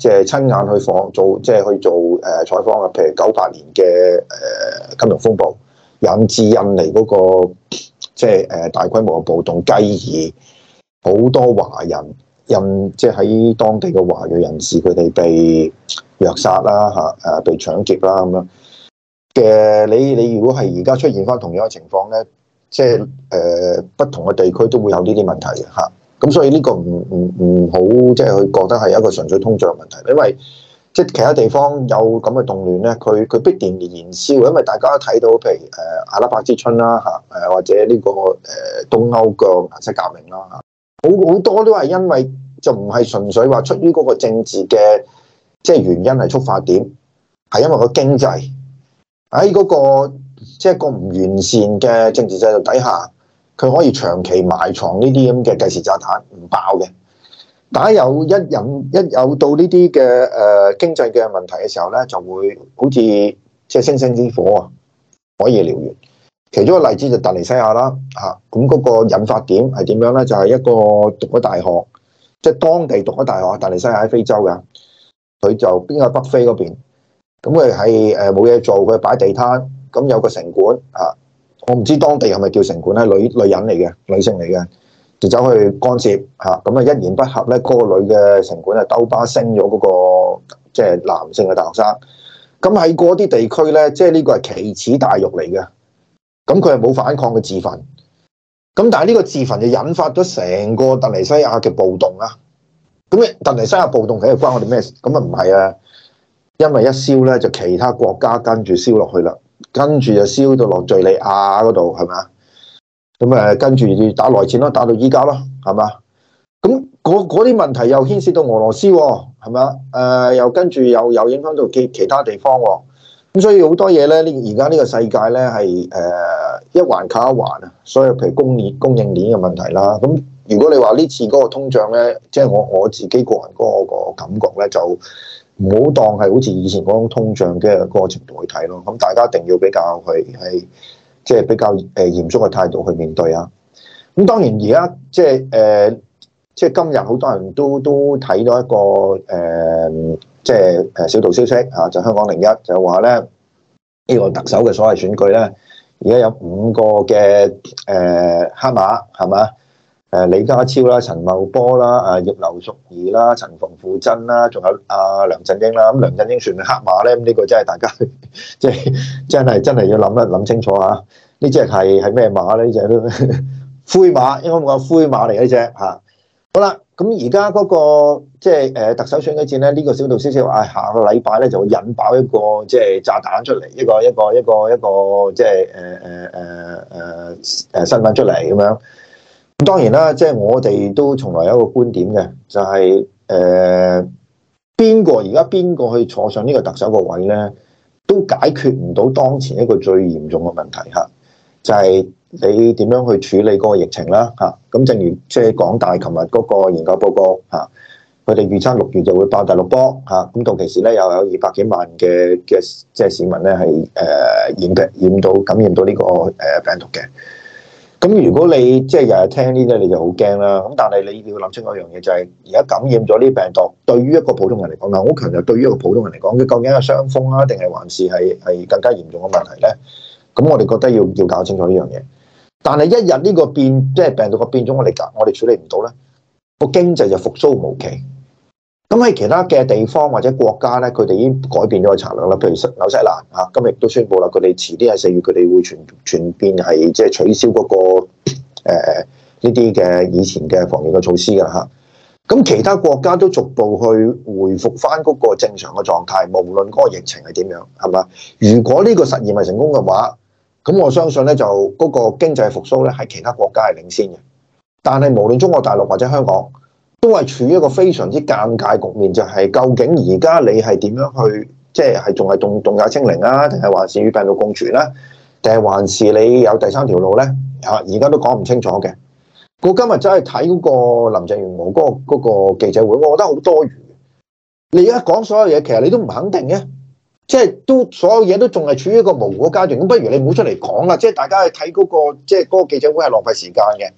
即係親眼去訪做，即係去做誒採訪啊。譬如九八年嘅誒金融風暴，引致印尼嗰個即係誒大規模嘅暴動，繼而好多華人印即係喺當地嘅華裔人士，佢哋被虐殺啦嚇，誒被搶劫啦咁樣嘅。你你如果係而家出現翻同樣嘅情況咧，即係誒、呃、不同嘅地區都會有呢啲問題嘅嚇。咁所以呢個唔唔唔好即係佢覺得係一個純粹通脹問題，因為即係其他地方有咁嘅動亂咧，佢佢必定燃燒，因為大家都睇到譬如誒阿拉伯之春啦嚇，誒或者呢個誒東歐嘅顏色革命啦嚇，好好多都係因為就唔係純粹話出於嗰個政治嘅即係原因係觸發點，係因為個經濟喺嗰個即係個唔完善嘅政治制度底下。佢可以長期埋藏呢啲咁嘅計時炸彈唔爆嘅，但係有一引一有到呢啲嘅誒經濟嘅問題嘅時候咧，就會好似即係星星之火啊，可以燎原。其中一個例子就突尼西亞啦嚇，咁嗰個引發點係點樣咧？就係、是、一個讀咗大學，即、就、係、是、當地讀咗大學，突尼西亞喺非洲嘅，佢就邊個北非嗰邊，咁佢係誒冇嘢做，佢擺地攤，咁有個城管嚇。我唔知當地係咪叫城管咧，女女人嚟嘅，女性嚟嘅，就走去干涉嚇，咁啊一言不合咧，嗰、那個女嘅城管啊兜巴升咗嗰個即係、就是、男性嘅大學生。咁喺嗰啲地區咧，即係呢個係奇恥大辱嚟嘅。咁佢係冇反抗嘅自焚。咁但係呢個自焚就引發咗成個突尼西亞嘅暴動啦。咁突尼西亞暴動其實關我哋咩事？咁啊唔係啊，因為一燒咧就其他國家跟住燒落去啦。跟住就燒到落敍利亞嗰度，係咪啊？咁誒，跟住打內戰咯，打到依家咯，係嘛？咁嗰啲問題又牽涉到俄羅斯喎，係咪啊？誒、呃，又跟住又又影響到其其他地方喎。咁所以好多嘢咧，呢而家呢個世界咧係誒一環靠一環啊。所以譬如供應供應鏈嘅問題啦。咁如果你話呢次嗰個通脹咧，即係我我自己個人嗰個感覺咧就。唔好當係好似以前嗰種通脹嘅嗰個程度去睇咯，咁大家一定要比較去係即係比較誒嚴肅嘅態度去面對啊。咁當然而家即係誒即係今日好多人都都睇到一個誒即係誒小道消息啊，就香港零一就話咧呢個特首嘅所謂選舉咧，而家有五個嘅誒黑馬係嘛？誒李家超啦、陳茂波啦、誒葉劉淑儀啦、陳馮富珍啦，仲有阿梁振英啦。咁梁振英算唔算黑馬咧？咁呢個真係大家即係真係真係要諗一諗清楚嚇。呢隻係係咩馬咧？呢隻都灰馬，應該冇個灰馬嚟嘅呢隻嚇。好啦，咁而家嗰個即係誒特首選舉戰咧，呢、這個小道消息話、哎、下個禮拜咧就會引爆一個即係炸彈出嚟，一個一個一個一個即係誒誒誒誒誒新聞出嚟咁樣。咁當然啦，即係我哋都從來有一個觀點嘅，就係誒邊個而家邊個去坐上呢個特首個位咧，都解決唔到當前一個最嚴重嘅問題嚇，就係你點樣去處理嗰個疫情啦嚇。咁正如即係港大琴日嗰個研究報告嚇，佢哋預測六月就會爆第六波嚇，咁到其時咧又有二百幾萬嘅嘅即係市民咧係誒染嘅染到感染到呢個誒病毒嘅。咁如果你即係日日聽呢啲，你就好驚啦。咁但係你要諗清楚一樣嘢，就係而家感染咗呢啲病毒，對於一個普通人嚟講，嗱，我好強調對於一個普通人嚟講，佢究竟係傷風啊，定係還是係係更加嚴重嘅問題咧？咁我哋覺得要要搞清楚呢樣嘢。但係一日呢個變，即係病毒嘅變種，我哋我哋處理唔到咧，個經濟就復甦無期。咁喺其他嘅地方或者國家咧，佢哋已經改變咗個策略啦。譬如紐西蘭嚇，今日亦都宣布啦，佢哋遲啲喺四月，佢哋會全全變係即係取消嗰、那個誒呢啲嘅以前嘅防疫嘅措施㗎嚇。咁其他國家都逐步去回復翻嗰個正常嘅狀態，無論嗰個疫情係點樣，係嘛？如果呢個實驗係成功嘅話，咁我相信咧就嗰個經濟復甦咧係其他國家係領先嘅。但係無論中國大陸或者香港，都係處於一個非常之尷尬局面，就係、是、究竟而家你係點樣去，即係係仲係動動態清零啊，定係還是與病毒共存啦、啊，定係還是你有第三條路咧？嚇，而家都講唔清楚嘅。我今日真係睇嗰個林鄭月娥嗰、那個嗰、那個記者會，我覺得好多餘。你而家講所有嘢，其實你都唔肯定嘅，即係都所有嘢都仲係處於一個模糊嘅階段。咁不如你唔好出嚟講啦，即係大家去睇嗰個即係嗰個記者會係浪費時間嘅。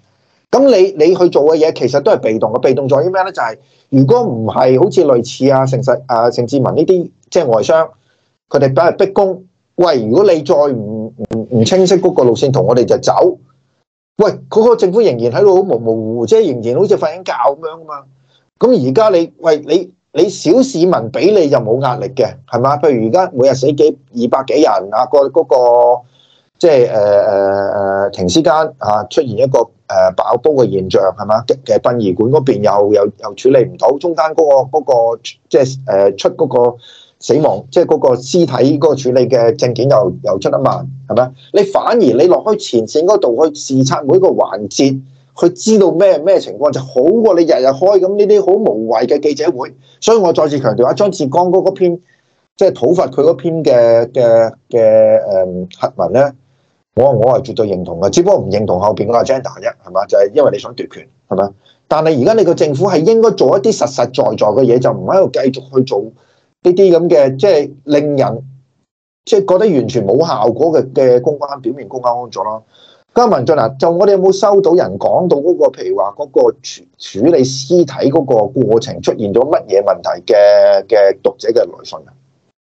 咁你你去做嘅嘢其實都係被動嘅，被動在於咩咧？就係、是、如果唔係好似類似啊盛世啊盛智文呢啲即係外商，佢哋俾人逼供，喂，如果你再唔唔唔清晰嗰個路線圖，我哋就走。喂，嗰、那個政府仍然喺度好模模糊糊，即係仍然好似瞓緊覺咁樣啊嘛。咁而家你喂你你小市民俾你就冇壓力嘅，係嘛？譬如而家每日死幾二百幾人啊，個嗰個即係誒誒誒停屍間啊出現一個誒、呃、爆煲嘅現象係嘛？嘅嘅殯儀館嗰邊又又又處理唔到，中間嗰、嗰個、嗰個即係誒出嗰個死亡，即係嗰個屍體嗰個處理嘅證件又又出得慢，係咪？你反而你落去前線嗰度去視察每一個環節，去知道咩咩情況就好過你日日開咁呢啲好無謂嘅記者會。所以我再次強調啊，張志剛嗰篇即係討伐佢嗰篇嘅嘅嘅誒核文咧，我我係絕對認同嘅，只不過唔認同後邊嗰個 agenda 啫，係嘛？就係、是、因為你想奪權，係咪？但係而家你個政府係應該做一啲實實在在嘅嘢，就唔喺度繼續去做呢啲咁嘅，即係令人即係覺得完全冇效果嘅嘅公關表面公關工作咯。咁文進啊，就我哋有冇收到人講到嗰個，譬如話嗰個處處理屍體嗰個過程出現咗乜嘢問題嘅嘅讀者嘅來信啊？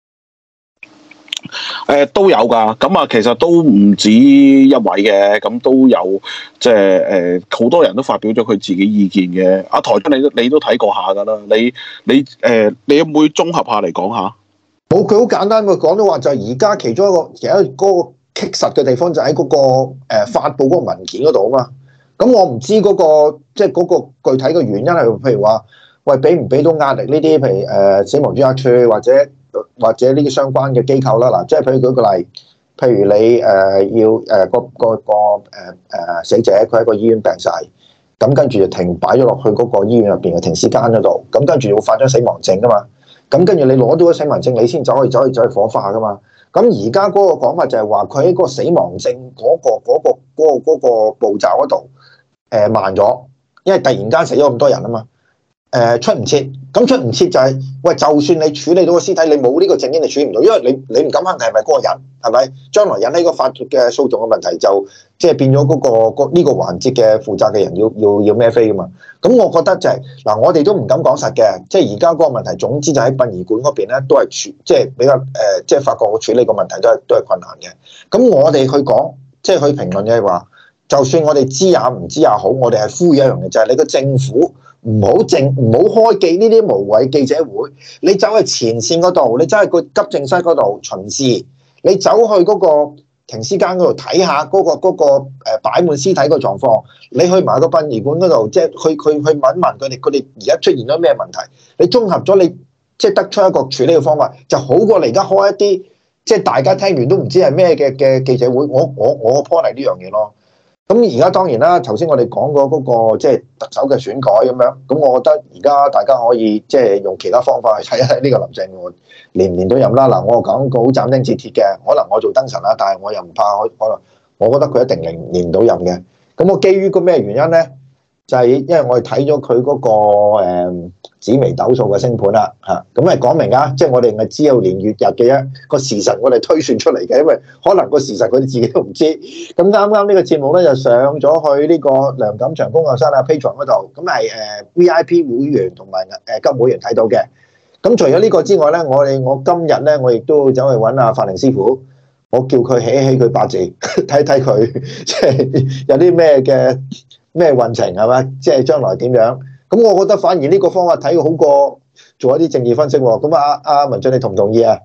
誒、呃、都有㗎，咁啊其實都唔止一位嘅，咁都有即係誒好多人都發表咗佢自己意見嘅。阿、啊、台長你都你都睇過下㗎啦，你你誒、呃、你有冇綜合下嚟講下？ 冇，佢好簡單，佢講到話就係而家其中一個其實嗰個棘實嘅地方就喺嗰、那個誒、呃、發布嗰個文件嗰度啊嘛。咁我唔知嗰、那個即係嗰個具體嘅原因係譬如話，喂，俾唔俾到壓力呢啲，譬如誒、呃、死亡專家處或者或者呢啲相關嘅機構啦。嗱，即係譬如舉個例，譬如你誒、呃、要誒、呃、個個個誒誒、呃、死者佢喺個醫院病逝，咁跟住就停擺咗落去嗰個醫院入邊嘅停屍間嗰度，咁跟住要發張死亡證噶嘛。咁跟住你攞到個死亡證，你先走去走去走去火化噶嘛。咁而家嗰個講法就係話，佢喺個死亡證嗰、嗰個嗰、嗰個嗰、嗰個嗰個步驟嗰度誒慢咗，因為突然間死咗咁多人啊嘛。誒、呃、出唔切，咁出唔切就係、是、喂，就算你處理到個屍體，你冇呢個證件你處理唔到，因為你你唔敢肯定係咪嗰個人，係咪？將來引起個法律嘅訴訟嘅問題就即係變咗嗰、嗰個呢、呢個環節嘅負責嘅人要要要孭飛噶嘛。咁我覺得就係、是、嗱，我哋都唔敢講實嘅，即係而家嗰個問題，總之就喺殯儀館嗰邊咧，都係處即係比較誒、呃，即係發覺個處理個問題都係都係困難嘅。咁我哋去講，即係去評論嘅係話，就算我哋知也唔知也好，我哋係呼籲一樣嘅，就係、是、你個政府。唔好正，唔好開記呢啲無謂記者會。你走去前線嗰度，你走去個急症室嗰度巡視，你走去嗰個停屍間嗰度睇下嗰個嗰個誒擺滿屍體個狀況。你去埋個殯儀館嗰度，即係去去去問一問佢哋，佢哋而家出現咗咩問題？你綜合咗，你即係得出一個處理嘅方法，就好過你而家開一啲即係大家聽完都唔知係咩嘅嘅記者會。我我我個 point 係呢樣嘢咯。咁而家當然啦，頭先我哋講過嗰個即係特首嘅選舉咁樣，咁我覺得而家大家可以即係用其他方法去睇下呢個林鄭月娥連唔連到任啦。嗱，我講個好斬釘截鐵嘅，可能我做燈神啦，但係我又唔怕，可能我覺得佢一定連連唔到任嘅。咁我基於個咩原因咧？就係因為我哋睇咗佢嗰個誒紫微斗數嘅星盤啦，嚇咁係講明啊，即係我哋係只有年月日嘅一個時辰，我哋推算出嚟嘅，因為可能個時辰佢哋自己都唔知。咁啱啱呢個節目咧就上咗去呢個梁錦祥工作室啊 Patreon 嗰度，咁係誒 V I P 會員同埋誒金會員睇到嘅。咁除咗呢個之外咧，我哋我今日咧我亦都走去揾阿法寧師傅，我叫佢起一起佢八字，睇睇佢即係有啲咩嘅。咩運程係嘛？即係將來點樣？咁我覺得反而呢個方法睇好過做一啲政治分析喎。咁啊，阿文進你同唔同意啊？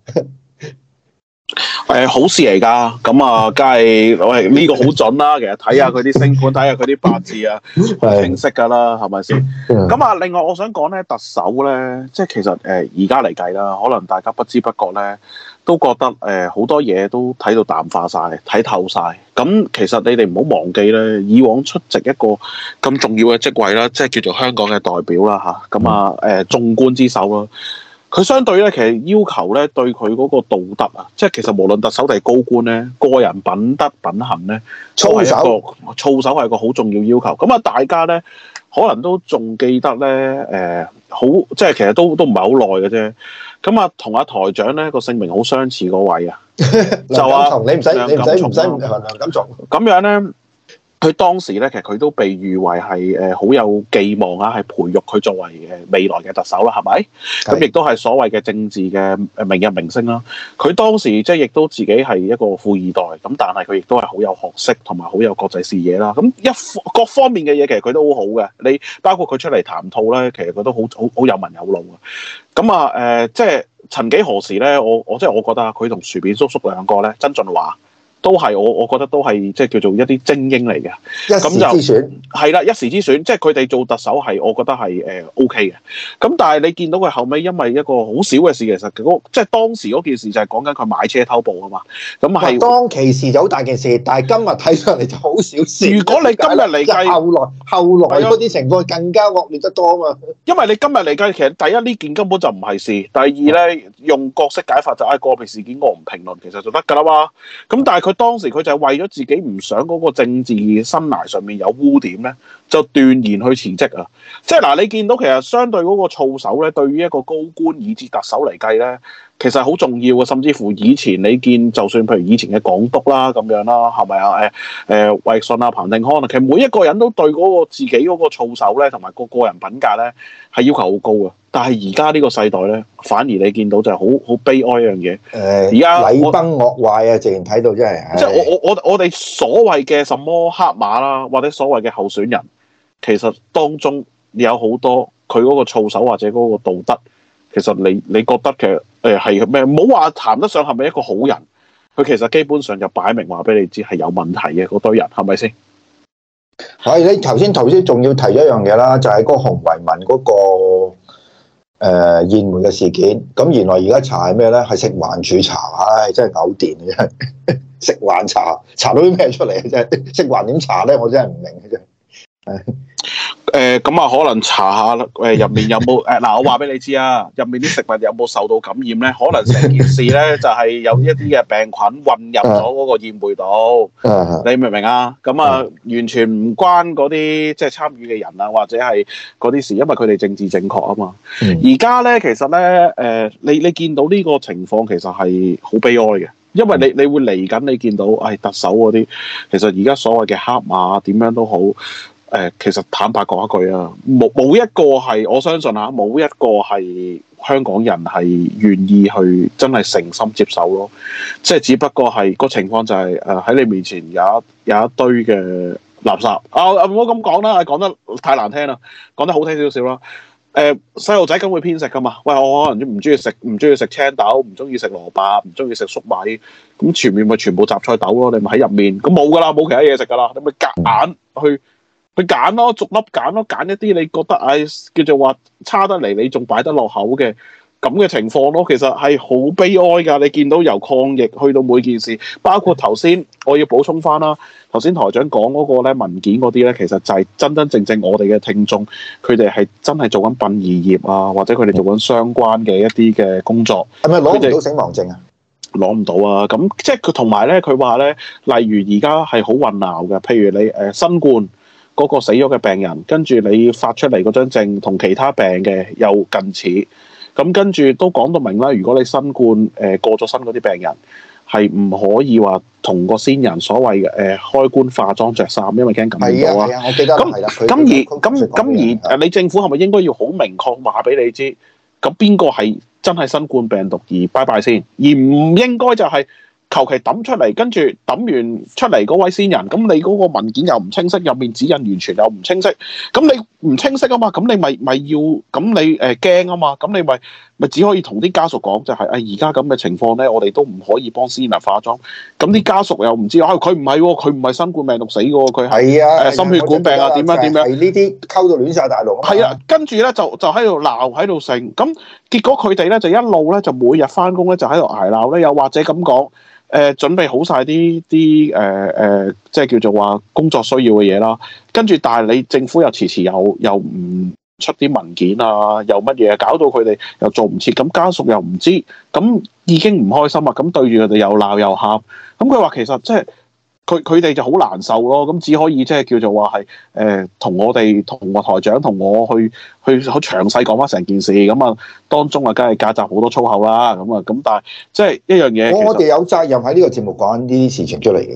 誒好事嚟㗎，咁啊，梗係喂呢個好準啦。其實睇下佢啲星盤，睇下佢啲八字啊，好清晰㗎啦，係咪先？咁啊，另外我想講咧，特首咧，即係其實誒而家嚟計啦，可能大家不知不覺咧。都覺得誒好、呃、多嘢都睇到淡化晒，睇透晒。咁其實你哋唔好忘記咧，以往出席一個咁重要嘅職位啦，即係叫做香港嘅代表啦嚇。咁啊誒眾官之首啦，佢相對咧其實要求咧對佢嗰個道德啊，即係其實無論特首定係高官咧，個人品德品行咧，操守操守係一個好重要要求。咁啊，大家咧可能都仲記得咧誒，好、呃、即係其實都都唔係好耐嘅啫。咁啊，同阿台長咧個姓名好相似嗰位啊，就話你唔使你唔使唔使梁錦松咁樣咧， 佢當時咧，其實佢都被譽為係誒好有寄望啊，係培育佢作為誒未來嘅特首啦，係咪？咁亦都係所謂嘅政治嘅誒明日明星啦。佢當時即係亦都自己係一個富二代，咁但係佢亦都係好有學識同埋好有國際視野啦。咁一各方面嘅嘢其實佢都好好嘅。你包括佢出嚟談吐咧，其實佢都好好好有文有路啊。咁啊誒，即係曾幾何時咧，我我即係我覺得佢同薯片叔叔兩個咧，曾俊華。都係我，我覺得都係即係叫做一啲精英嚟嘅， 一時之選係啦，一時之選，即係佢哋做特首係，我覺得係誒 O K 嘅。咁但係你見到佢後尾因為一個好少嘅事，其實嗰即係當時嗰件事就係講緊佢買車偷步啊嘛。咁係當其時就好大件事，但係今日睇上嚟就好小事。 如果你今日嚟計， 後來後來嗰啲情況更加惡劣得多啊嘛。 因為你今日嚟計，其實第一呢件根本就唔係事，第二咧用角色解法就係個別事件我唔評論，其實就得㗎啦嘛。咁但係佢。佢當時佢就係為咗自己唔想嗰個政治生涯上面有污點咧，就斷然去辭職啊！即係嗱，你見到其實相對嗰個操守咧，對於一個高官以至特首嚟計咧，其實好重要嘅。甚至乎以前你見，就算譬如以前嘅港督啦咁樣啦，係咪啊？誒誒，衛信啊、彭定康啊，其實每一個人都對嗰個自己嗰個操守咧，同埋個個人品格咧，係要求好高嘅。但係而家呢個世代咧，反而你見到就係好好悲哀一樣嘢。誒、呃，而家禮崩樂壞啊！直情睇到真係。 即係我我我我哋所謂嘅什麼黑馬啦，或者所謂嘅候選人，其實當中有好多佢嗰個操守或者嗰個道德，其實你你覺得嘅誒係咩？唔好話談得上係咪一個好人，佢其實基本上就擺明話俾你知係有問題嘅嗰堆人，係咪先？ 係你頭先頭先仲要提咗一樣嘢啦，就係、是、嗰個洪為民嗰、那個。誒、呃、宴會嘅事件，咁原來而家查係咩咧？係食環署查，唉、哎，真係嘔電嘅真。食環查查到啲咩出嚟嘅啫？食環點查咧？我真係唔明嘅啫。 誒咁啊，可能查下誒入面有冇誒嗱，我話俾你知啊，入面啲食物有冇受到感染咧？可能成件事咧就係、是、有一啲嘅病菌混入咗嗰個宴會度，你明唔明啊？咁啊，完全唔關嗰啲即係參與嘅人啊，或者係嗰啲事，因為佢哋政治正確啊嘛。而家咧其實咧誒、呃，你你見到呢個情況其實係好悲哀嘅，因為你你會嚟緊，你見到誒、哎、特首嗰啲，其實而家所謂嘅黑馬點樣都好。誒、呃，其實坦白講一句啊，冇冇一個係我相信啊，冇一個係香港人係願意去真係誠心接受咯。即係只不過係個情況就係誒喺你面前有一有一堆嘅垃圾啊！唔好咁講啦，講得太難聽啦，講得好聽少少啦。誒細路仔梗會偏食噶嘛？喂，我可能唔中意食唔中意食青豆，唔中意食蘿蔔，唔中意食粟米，咁前面咪全部雜菜豆咯，你咪喺入面，咁冇噶啦，冇其他嘢食噶啦，你咪夾硬去。去揀咯，逐粒揀咯，揀一啲你覺得唉、哎、叫做話差得嚟，你仲擺得落口嘅咁嘅情況咯。其實係好悲哀㗎。你見到由抗疫去到每件事，包括頭先我要補充翻啦。頭先台長講嗰個咧文件嗰啲咧，其實就係真真正正我哋嘅聽眾，佢哋係真係做緊殯儀業啊，或者佢哋做緊相關嘅一啲嘅工作。係咪攞唔到死亡證啊？攞唔到啊！咁即係佢同埋咧，佢話咧，例如而家係好混淆嘅，譬如你誒、呃、新冠。嗰個死咗嘅病人，跟住你發出嚟嗰張證同其他病嘅又近似，咁跟住都講到明啦。如果你新冠誒、呃、過咗身嗰啲病人，係唔可以話同個先人所謂嘅誒、呃、開棺化妝着衫，因為驚感染到啊。係啊，我記得係啦。咁咁而咁咁而誒，你政府係咪應該要好明確話俾你知？咁邊個係真係新冠病毒而拜拜先，而唔應該就係、是。求其抌出嚟，跟住抌完出嚟嗰位先人，咁你嗰個文件又唔清晰，入面指引完全又唔清晰，咁你唔清晰啊嘛，咁你咪咪要，咁你誒驚啊嘛，咁你咪咪只可以同啲家屬講就係、是，誒而家咁嘅情況咧，我哋都唔可以幫先人化妝，咁啲家屬又唔知，啊佢唔係喎，佢唔係新冠病毒死嘅喎，佢係誒心血管病啊，點樣點樣？係呢啲溝到亂晒大龍。係啊，跟住咧就就喺度鬧喺度成，咁結果佢哋咧就一路咧就每日翻工咧就喺度捱鬧咧，又或者咁講。誒、呃、準備好晒啲啲誒誒，即係叫做話工作需要嘅嘢啦。跟住，但係你政府又遲遲又又唔出啲文件啊，又乜嘢，搞到佢哋又做唔切。咁家屬又唔知，咁已經唔開心啊。咁對住佢哋又鬧又喊。咁佢話其實即係佢佢哋就好難受咯。咁只可以即係叫做話係誒同我哋同個台長同我去去好詳細講翻成件事。咁啊當中啊，梗係夾雜好多粗口啦。咁啊咁，但係即係一樣嘢，我哋有責任喺呢個節目講呢啲事情出嚟嘅。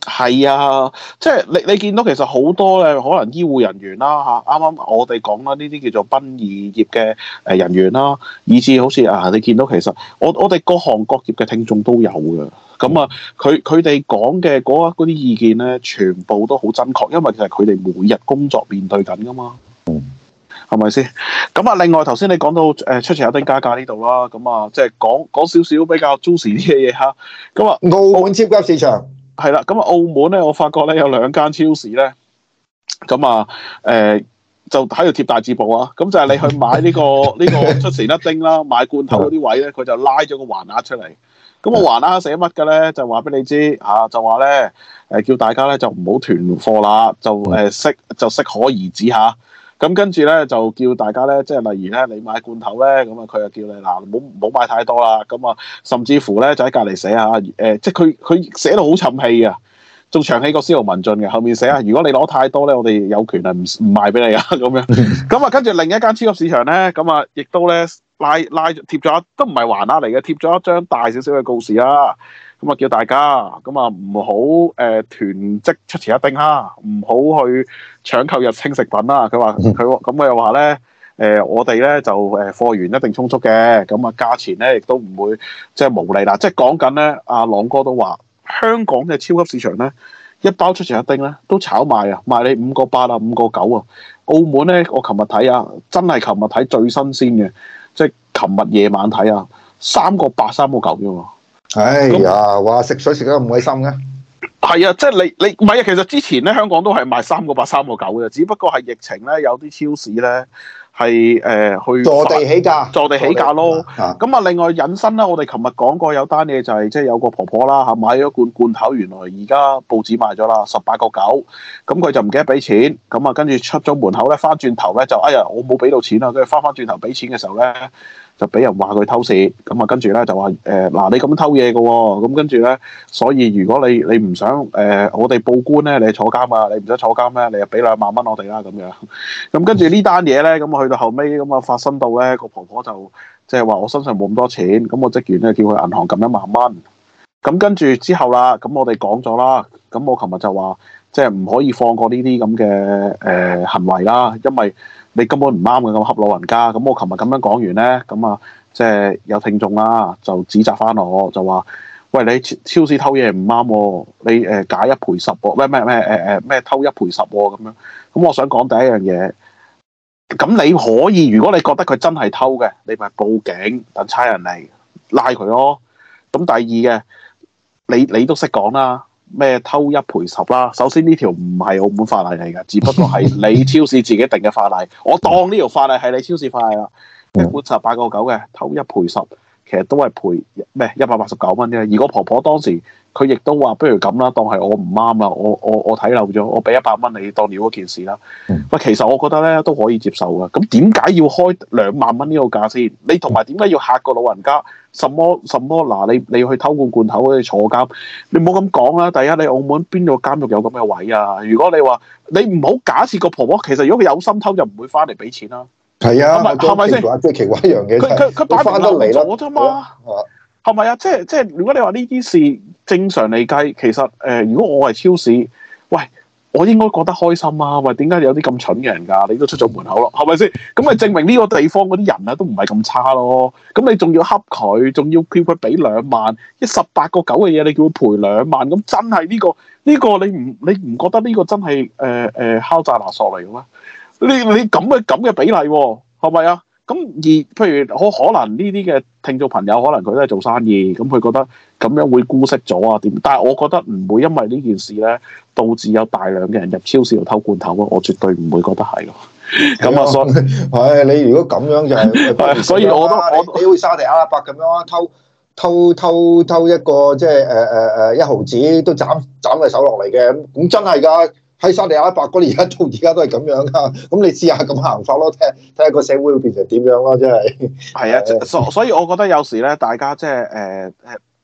係啊，即係你你見到其實好多嘅可能醫護人員啦嚇，啱啱我哋講啦，呢啲叫做殯儀業嘅誒人員啦，以至好似啊，你見到其實我我哋各行各業嘅聽眾都有嘅，咁啊，佢佢哋講嘅嗰嗰啲意見咧，全部都好真確，因為其實佢哋每日工作面對緊噶嘛。係咪先？咁啊，另外頭先你講到誒、呃、出前一丁加價呢度啦，咁啊，即係講講少少比較 juicy 啲嘅嘢嚇。咁啊， 澳門超級市場係啦，咁啊，澳門咧，我發覺咧有兩間超市咧，咁啊，誒、呃、就喺度貼大字報啊，咁就係你去買呢、呢個呢個出前一丁啦，買罐頭嗰啲位咧，佢就拉咗個橫額出嚟。咁個橫額寫乜嘅咧？就話俾你知嚇、啊，就話咧誒叫大家咧就唔好囤貨啦，就誒適、呃、就適可而止嚇。咁跟住咧就叫大家咧，即係例如咧，你買罐頭咧，咁啊佢就叫你嗱，唔好唔好買太多啦。咁啊，甚至乎咧就喺隔離寫下誒、呃，即係佢佢寫到好沉氣啊，仲長氣過司徒文進嘅。後面寫啊，如果你攞太多咧，我哋有權係唔唔賣俾你啊咁樣。咁啊，跟住另一間超級市場咧，咁啊亦都咧拉拉貼咗，都唔係橫額嚟嘅，貼咗一張大少少嘅告示啦。咁啊，叫大家咁啊，唔好誒囤積出前一丁啦，唔好去搶購日清食品啦。佢話佢咁佢又話咧誒，我哋咧就誒貨源一定充足嘅，咁啊價錢咧亦都唔會即係無理啦。即係講緊咧，阿朗哥都話香港嘅超級市場咧，一包出前一丁咧都炒賣啊，賣你五個八啊，五個九啊。澳門咧，我琴日睇啊，真係琴日睇最新鮮嘅，即係琴日夜晚睇啊，三個八三個九啫喎。 哎呀，話食水食得咁鬼深嘅， 係啊，即係你你唔係啊，其實之前咧香港都係賣三個八三個九嘅，只不過係疫情咧有啲超市咧係誒去坐地起價， 坐地起價咯。咁啊，另外引申啦，我哋琴日講過有單嘢就係即係有個婆婆啦嚇買咗罐罐頭，原來而家報紙賣咗啦，十八個九，咁佢就唔記得俾錢，咁啊跟住出咗門口咧，翻轉頭咧就哎呀我冇俾到錢啊，跟住翻翻轉頭俾錢嘅時候咧。就俾人話佢偷竊，咁啊跟住咧就話誒嗱你咁樣偷嘢嘅喎，咁跟住咧，所以如果你你唔想誒、呃、我哋報官咧，你坐監啊，你唔使坐監咩？你就俾兩萬蚊我哋啦咁樣。咁跟住呢單嘢咧，咁啊去到後尾咁啊發生到咧個婆婆就即係話我身上冇咁多錢，咁個職員咧叫佢銀行撳一萬蚊。咁跟住之後啦，咁我哋講咗啦，咁我琴日就話即係唔可以放過呢啲咁嘅誒行為啦，因為你根本唔啱嘅咁恰老人家，咁我琴日咁樣講完咧，咁啊即係有聽眾啦，就指責翻我，就話：喂，你超市偷嘢唔啱喎，你誒假一賠十喎，咩咩咩誒誒咩偷一賠十喎咁樣。咁我想講第一樣嘢，咁你可以，如果你覺得佢真係偷嘅，你咪報警，等差人嚟拉佢咯。咁第二嘅，你你都識講啦。咩偷一賠十啦？首先呢條唔係澳門法例嚟㗎，只不過係你超市自己定嘅法例。我當呢條法例係你超市法例啦。一罐十八個九嘅偷一賠十，其實都係賠咩一百八十九蚊啫。而個婆婆當時佢亦都話：不如咁啦，當係我唔啱啦，我我我睇漏咗，我俾一百蚊你當了嗰件事啦。喂，其實我覺得咧都可以接受㗎。咁點解要開兩萬蚊呢個價先？你同埋點解要嚇個老人家？什麼什麼嗱？你你去偷罐罐頭嗰啲坐監，你唔好咁講啦。第一，你澳門邊個監獄有咁嘅位啊？如果你話你唔好假設個婆婆，其實如果佢有心偷，就唔會翻嚟俾錢啦。 係啊， 係咪先？ 最奇怪一樣嘢， 佢佢佢擺明漏咗啫嘛。係咪啊？即係即係，如果你話呢啲事正常嚟計，其實誒、呃，如果我係超市，喂。我應該覺得開心啊！喂，點解有啲咁蠢嘅人㗎？你都出咗門口咯，係咪先？咁咪證明呢個地方嗰啲人啊都唔係咁差咯。咁你仲要恰佢，仲要叫佢俾兩萬，一十八個九嘅嘢，你叫佢賠兩萬，咁真係呢、呢個呢、呢個你唔你唔覺得呢個真係誒誒敲詐勒索嚟嘅咩？你你咁嘅咁嘅比例喎、啊，係咪啊？咁而譬如可可能呢啲嘅聽眾朋友，可能佢都係做生意，咁佢覺得咁樣會姑息咗啊點？但係我覺得唔會因為呢件事咧，導致有大量嘅人入超市度偷罐頭咯，我絕對唔會覺得係咯。咁啊，所以係你如果咁樣就係， 所以我都我你好似沙地阿拉伯咁樣啊，偷偷偷偷一個即係誒誒誒一毫子都斬斬佢手落嚟嘅，咁真係㗎。喺沙地阿拉伯嗰啲而家到而家都係咁樣噶，咁你試下咁行法咯，睇睇下個社會會變成點樣咯，真係。 係啊，所所以我覺得有時咧，大家即係誒誒，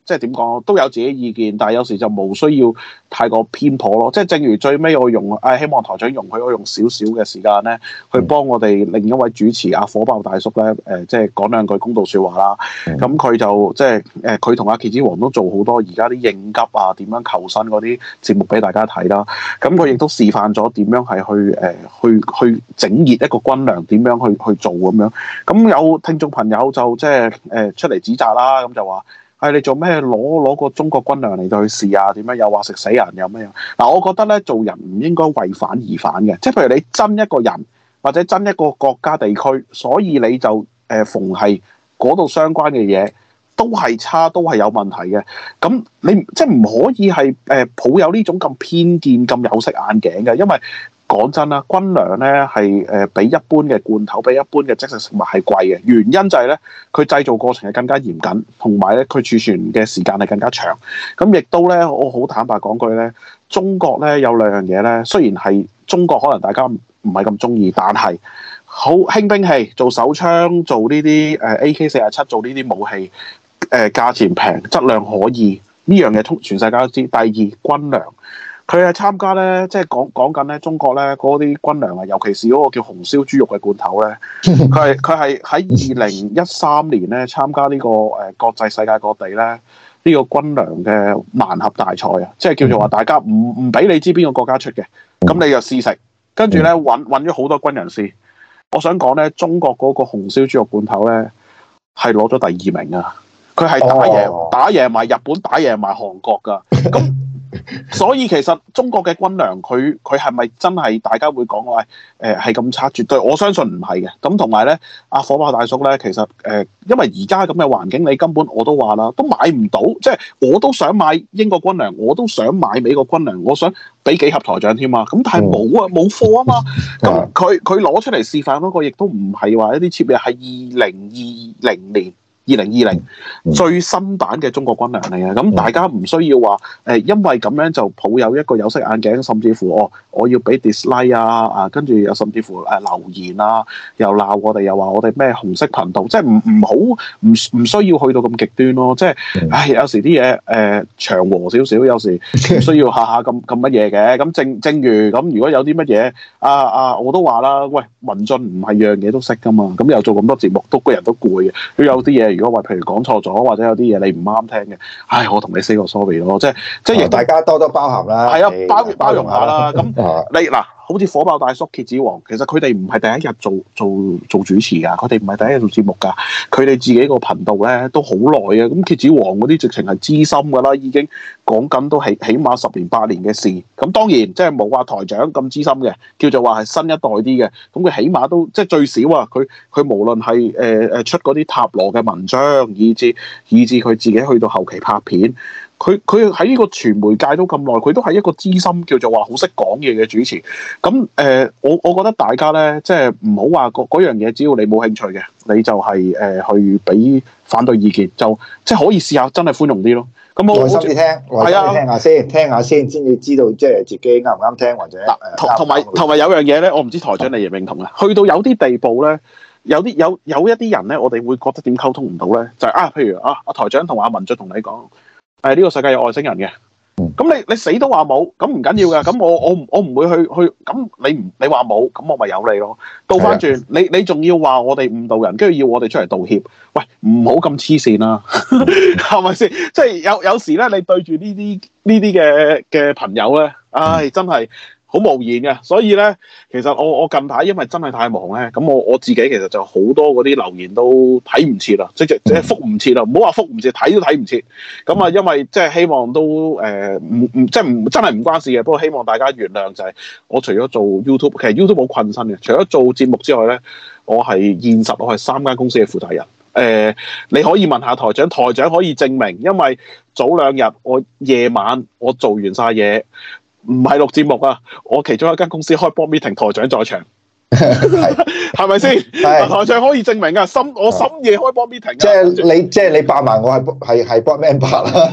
即係點講都有自己意見，但係有時就冇需要太過偏頗咯。即係正如最尾我用誒、哎，希望台長容許我用少少嘅時間咧，去幫我哋另一位主持阿火爆大叔咧誒、呃，即係講兩句公道説話啦。咁佢、嗯、就即係誒，佢同阿蠍子王都做好多而家啲應急啊，點樣求生嗰啲節目俾大家睇啦。咁佢亦都示範咗點樣係去誒、呃、去去整熱一個軍糧，點樣去去做咁樣。咁有聽眾朋友就即係誒出嚟指責啦，咁就話。係、哎、你做咩攞攞個中國軍糧嚟到去試啊？點樣又話食死人又咩樣？嗱，我覺得咧做人唔應該為反而反嘅，即係譬如你憎一個人或者憎一個國家地區，所以你就誒、呃、逢係嗰度相關嘅嘢都係差，都係有問題嘅。咁你即係唔可以係誒、呃、抱有呢種咁偏見、咁有色眼鏡嘅，因為。講真啦，軍糧咧係誒比一般嘅罐頭、比一般嘅即食食物係貴嘅，原因就係咧佢製造過程係更加嚴謹，同埋咧佢儲存嘅時間係更加長。咁亦都咧，我好坦白講句咧，中國咧有兩樣嘢咧，雖然係中國可能大家唔係咁中意，但係好輕兵器、做手槍、做呢啲誒 A K 四十七、做呢啲武器，誒、呃、價錢平、質量可以，呢樣嘢通全世界都知。第二，軍糧。佢係參加咧，即係講講緊咧，中國咧嗰啲軍糧啊，尤其是嗰個叫紅燒豬肉嘅罐頭咧，佢係佢係喺二零一三年咧參加呢、這個誒、呃、國際世界各地咧呢、這個軍糧嘅盲盒大賽啊，即係叫做話大家唔唔俾你知邊個國家出嘅，咁你就試食，跟住咧揾揾咗好多軍人試。我想講咧，中國嗰個紅燒豬肉罐頭咧係攞咗第二名啊！佢係打贏、oh. 打贏埋日本，打贏埋韓國㗎。咁所以其實中國嘅軍糧，佢佢係咪真係大家會講話誒係咁差？絕對我相信唔係嘅。咁同埋咧，阿火爆大叔咧，其實誒、呃，因為而家咁嘅環境，你根本我都話啦，都買唔到。即係我都想買英國軍糧，我都想買美國軍糧，我想俾幾盒台長添啊。咁但係冇啊，冇貨啊嘛。咁佢佢攞出嚟示範嗰個，亦都唔係話一啲設備，係二零二零年。二零二零最新版嘅中國軍糧嚟嘅，咁大家唔需要話誒、呃，因為咁樣就抱有一個有色眼鏡，甚至乎哦，我要俾 dislike 啊啊，跟住又甚至乎誒、呃、留言啊，又鬧我哋，又話我哋咩紅色頻道，即係唔唔好唔唔需要去到咁極端咯，即係唉，有時啲嘢誒祥和少少，有時唔需要下下咁咁乜嘢嘅，咁正正如咁，如果有啲乜嘢啊啊，我都話啦，喂，文進唔係樣嘢都識噶嘛，咁又做咁多節目，都個人都攰嘅，都有啲嘢。如果話譬如講錯咗，或者有啲嘢你唔啱聽嘅，唉，我同你 say 個 sorry 咯，即係即係大家多多包涵啦，係啊，包包容下啦。咁你嗱，好似火爆大叔、蠍子王，其實佢哋唔係第一日做做做主持㗎，佢哋唔係第一日做節目㗎，佢哋自己個頻道咧都好耐啊。咁蠍子王嗰啲直情係資深㗎啦，已經講緊都起起碼十年八年嘅事。咁當然即係冇話台長咁資深嘅，叫做話係新一代啲嘅。咁佢起碼都即係最少啊，佢佢無論係誒誒出嗰啲塔羅嘅文章，以至以至佢自己去到後期拍片。佢佢喺呢個傳媒界都咁耐，佢都係一個資深叫做話好識講嘢嘅主持。咁誒、呃，我我覺得大家咧，即係唔好話嗰嗰樣嘢，只要你冇興趣嘅，你就係、是、誒、呃、去俾反對意見，就即係可以試下真係寬容啲咯。咁我耐心啲聽，耐心啲聽下先，聽下先，先至知道即係自己啱唔啱聽或者同同埋同埋有樣嘢咧，我唔知台長你認唔認同啊？去到有啲地步咧。有啲有有一啲人咧，我哋會覺得點溝通唔到咧，就係、是、啊，譬如啊，阿台長同阿文進同你講，誒、啊、呢、這個世界有外星人嘅，咁你你死都話冇，咁唔緊要噶，咁我我我唔會去去，咁你唔你話冇，咁我咪有你咯。倒翻轉，的你你仲要話我哋誤導人，跟住要我哋出嚟道歉，喂，唔好咁黐線啦，係咪先？即係有有時咧，你對住呢啲呢啲嘅嘅朋友咧，唉，真係〜好無言嘅，所以咧，其實我我近排因為真係太忙咧，咁我我自己其實就好多嗰啲留言都睇唔切啦，即即即覆唔切啦，唔好話覆唔切，睇都睇唔切。咁啊，因為即係希望都誒唔唔即係唔真係唔關事嘅，不過希望大家原諒就係我除咗做 YouTube， 其實 YouTube 好困身嘅，除咗做節目之外咧，我係現實我係三間公司嘅負責人。誒、呃，你可以問下台長，台長可以證明，因為早兩日我夜晚我做完晒嘢。唔係錄節目啊！我其中一間公司開 board meeting，台長在場，係咪先？台長可以證明啊！深我深夜開 board meeting，即係你即係你扮埋我係係係 board member 啦。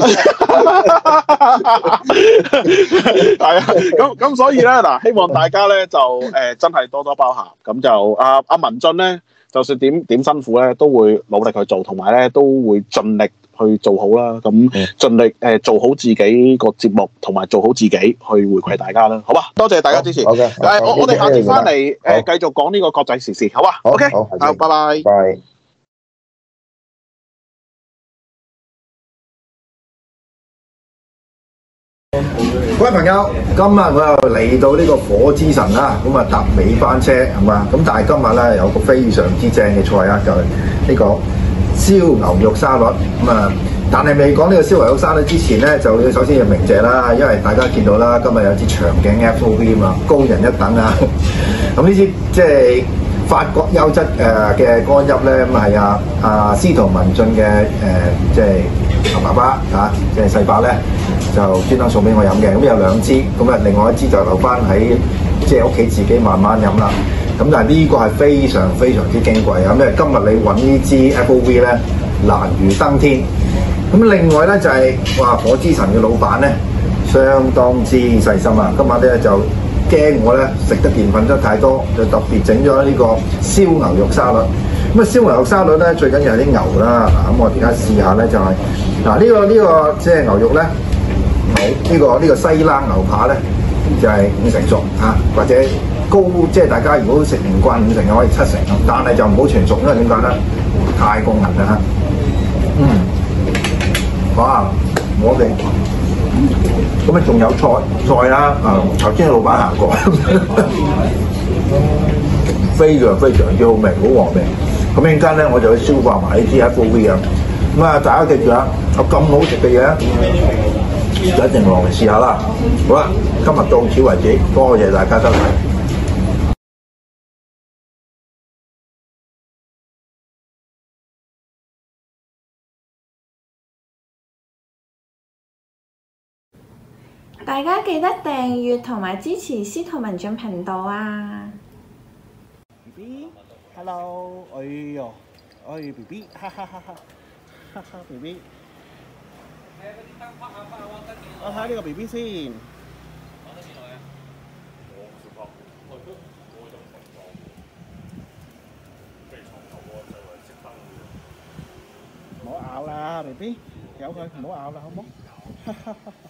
係啊，咁咁所以咧嗱，希望大家咧就誒、呃、真係多多包涵。咁就阿阿、啊、文進咧，就算點點辛苦咧，都會努力去做，同埋咧都會盡力去做好啦。咁盡力誒做好自己個節目，同埋做好自己去回饋大家啦。好啊，多謝大家支持。 好嘅， 誒，我我哋下次翻嚟誒繼續講呢個國際時事，好啊？OK， 好， 好，拜拜。 拜。各位朋友，今日我又嚟到呢個火之神啦，咁啊搭尾班車係嘛，咁但係今日咧有個非常之正嘅菜啊，就係、是、呢個燒牛肉沙律咁啊。但係未講呢個燒牛肉沙律之前咧，就要首先要鳴謝啦，因為大家見到啦，今日有支長頸 F O V 啊嘛，高人一等啊。咁呢支即係法國優質誒嘅乾邑咧，咁係啊啊司徒文進嘅誒即係爸爸嚇，即係細伯咧。就專登送俾我飲嘅，咁有兩支，咁啊另外一支就留翻喺即係屋企自己慢慢飲啦。咁但係呢個係非常非常之矜貴啊！因為今日你揾呢支 F O V 咧難如登天。咁另外咧就係、是、哇火之神嘅老闆咧相當之細心啊！今晚咧就驚我咧食得澱粉質太多，就特別整咗呢個燒牛肉沙律。咁啊燒牛肉沙律咧最緊要係啲牛啦。嗱咁我而家試下咧就係嗱呢個呢、呢個即係牛肉咧。好呢、這個呢、這個西冷牛扒咧就係、是、五成熟嚇、啊，或者高即係大家如果食唔慣五成嘅可以七成，但係就唔好全熟，因為點解咧？太過韌啦嚇。嗯，哇！我哋咁啊仲有菜菜啦啊！頭先老闆行過，非常非常之好味，好和味。咁一陣間咧我就去消化埋呢啲 F O V 啊。咁啊，大家記住啊，有咁好食嘅嘢。就一定落嚟試下啦！好啦，今日到此為止，多謝大家收睇。 大家記得訂閱同埋支持司徒文進頻道啊 ！B B，hello， 哎呦，哎 B B， 哈哈哈哈，哈哈 B B。我睇下呢個 B B 先。講得幾耐啊？我唔識講，我都我就唔識講。飛床頭喎，就係熄燈嘅。唔好咬啦 ，B B， 由佢唔好咬啦，好冇？